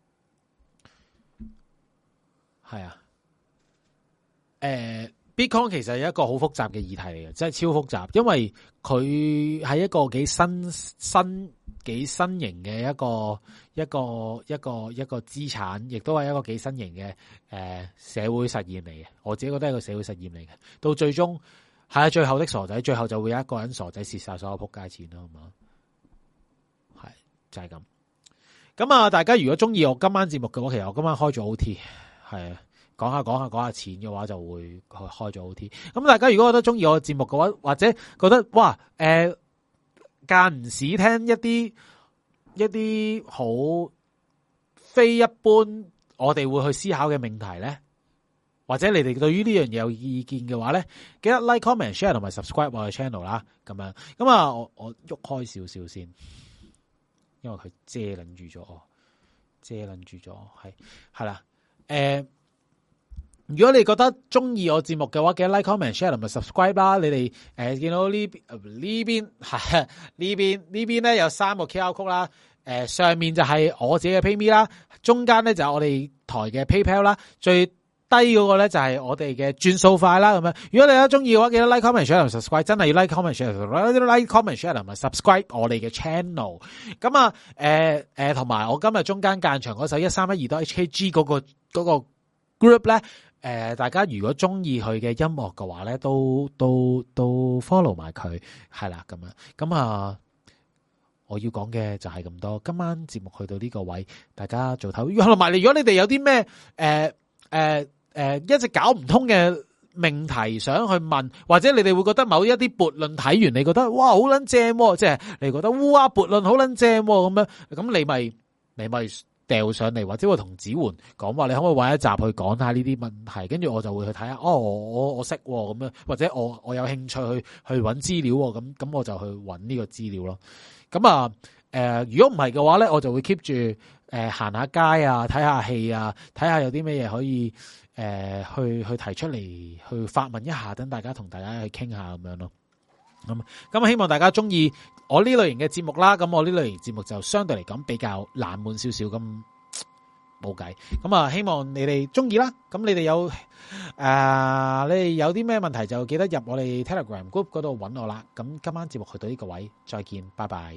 係啊。誒、呃、Bitcoin 其實係一個好複雜嘅議題嚟嘅，真係超複雜，因為佢係一個幾新新幾新型嘅一個一個一個一個資產，亦都係一個幾新型嘅誒、呃、社會實驗嚟嘅。我自己覺得係一個社會實驗嚟嘅。到最終係啊，最後的傻仔，最後就會有一個人傻仔蝕晒所有仆街錢咯，係嘛？係就係、是、咁。咁啊，大家如果中意我今晚節目嘅話，其實我今晚開咗 O T， 係啊。講下講下講下錢嘅話，就會開咗 O T。咁大家如果覺得中意我嘅節目嘅話，或者覺得哇，誒間唔時聽一啲一啲好非一般，我哋會去思考嘅命題咧，或者你哋對於呢樣嘢有意見嘅話咧，記得 like、comment、share 同埋 subscribe 我嘅 channel 啦。咁樣咁啊，我我喐開少少先，因為佢遮撚住咗我，遮撚住咗，係係啦，誒。呃如果你覺得中意我節目嘅話，記得 like、comment、share 同埋 subscribe 啦。你哋誒、呃、見到呢邊呢邊係呢邊呢邊咧有三個 Q R code 啦。誒、呃、上面就係我自己嘅 PayMe 啦，中間咧就係我哋台嘅 PayPal 啦，最低嗰個咧就係我哋嘅轉數快啦。咁樣，如果你有中意嘅話，記得 like、comment、share 同 subscribe， 真係要 like、comment、share、like、comment、share 同埋 subscribe 我哋嘅 channel。咁啊誒誒同埋我今日中間間場嗰首一三一二 H K G 嗰、嗰個、嗰個 group 咧。誒、呃，大家如果中意佢嘅音樂嘅話咧，都都都 follow 埋佢，係啦咁樣。咁啊，我要講嘅就係咁多。今晚節目去到呢個位，大家做頭。同埋，如果你哋有啲咩誒誒誒一直搞唔通嘅命題想去問，或者你哋會覺得某一啲悖論睇完，你覺得哇好撚正，即係你覺得烏鴉悖論好撚正咁樣，咁你咪你咪。掉上嚟，或者會同子桓講話，你可唔可以搵一集去講下呢啲問題？跟住我就會去睇下，哦，我我識咁樣，或者我我有興趣去去搵資料，咁咁我就去搵呢個資料咯。咁啊，誒、呃，如果唔係嘅話咧，我就會 keep 住誒行下街啊，睇下戲啊，睇下有啲咩嘢可以誒、呃、去去提出嚟，去發問一下，等大家同大家去傾下咁樣咯。咁咁希望大家中意我呢類型嘅節目啦。咁我呢類型節目就相對嚟講比較冷門少少，咁冇計。咁啊，希望你哋中意啦。咁你哋有誒、呃，你哋有啲咩問題就記得入我哋 Telegram Group 嗰度揾我啦。咁今晚節目去到呢個位，再見，拜拜。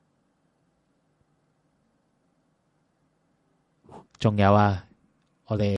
仲有啊，我哋。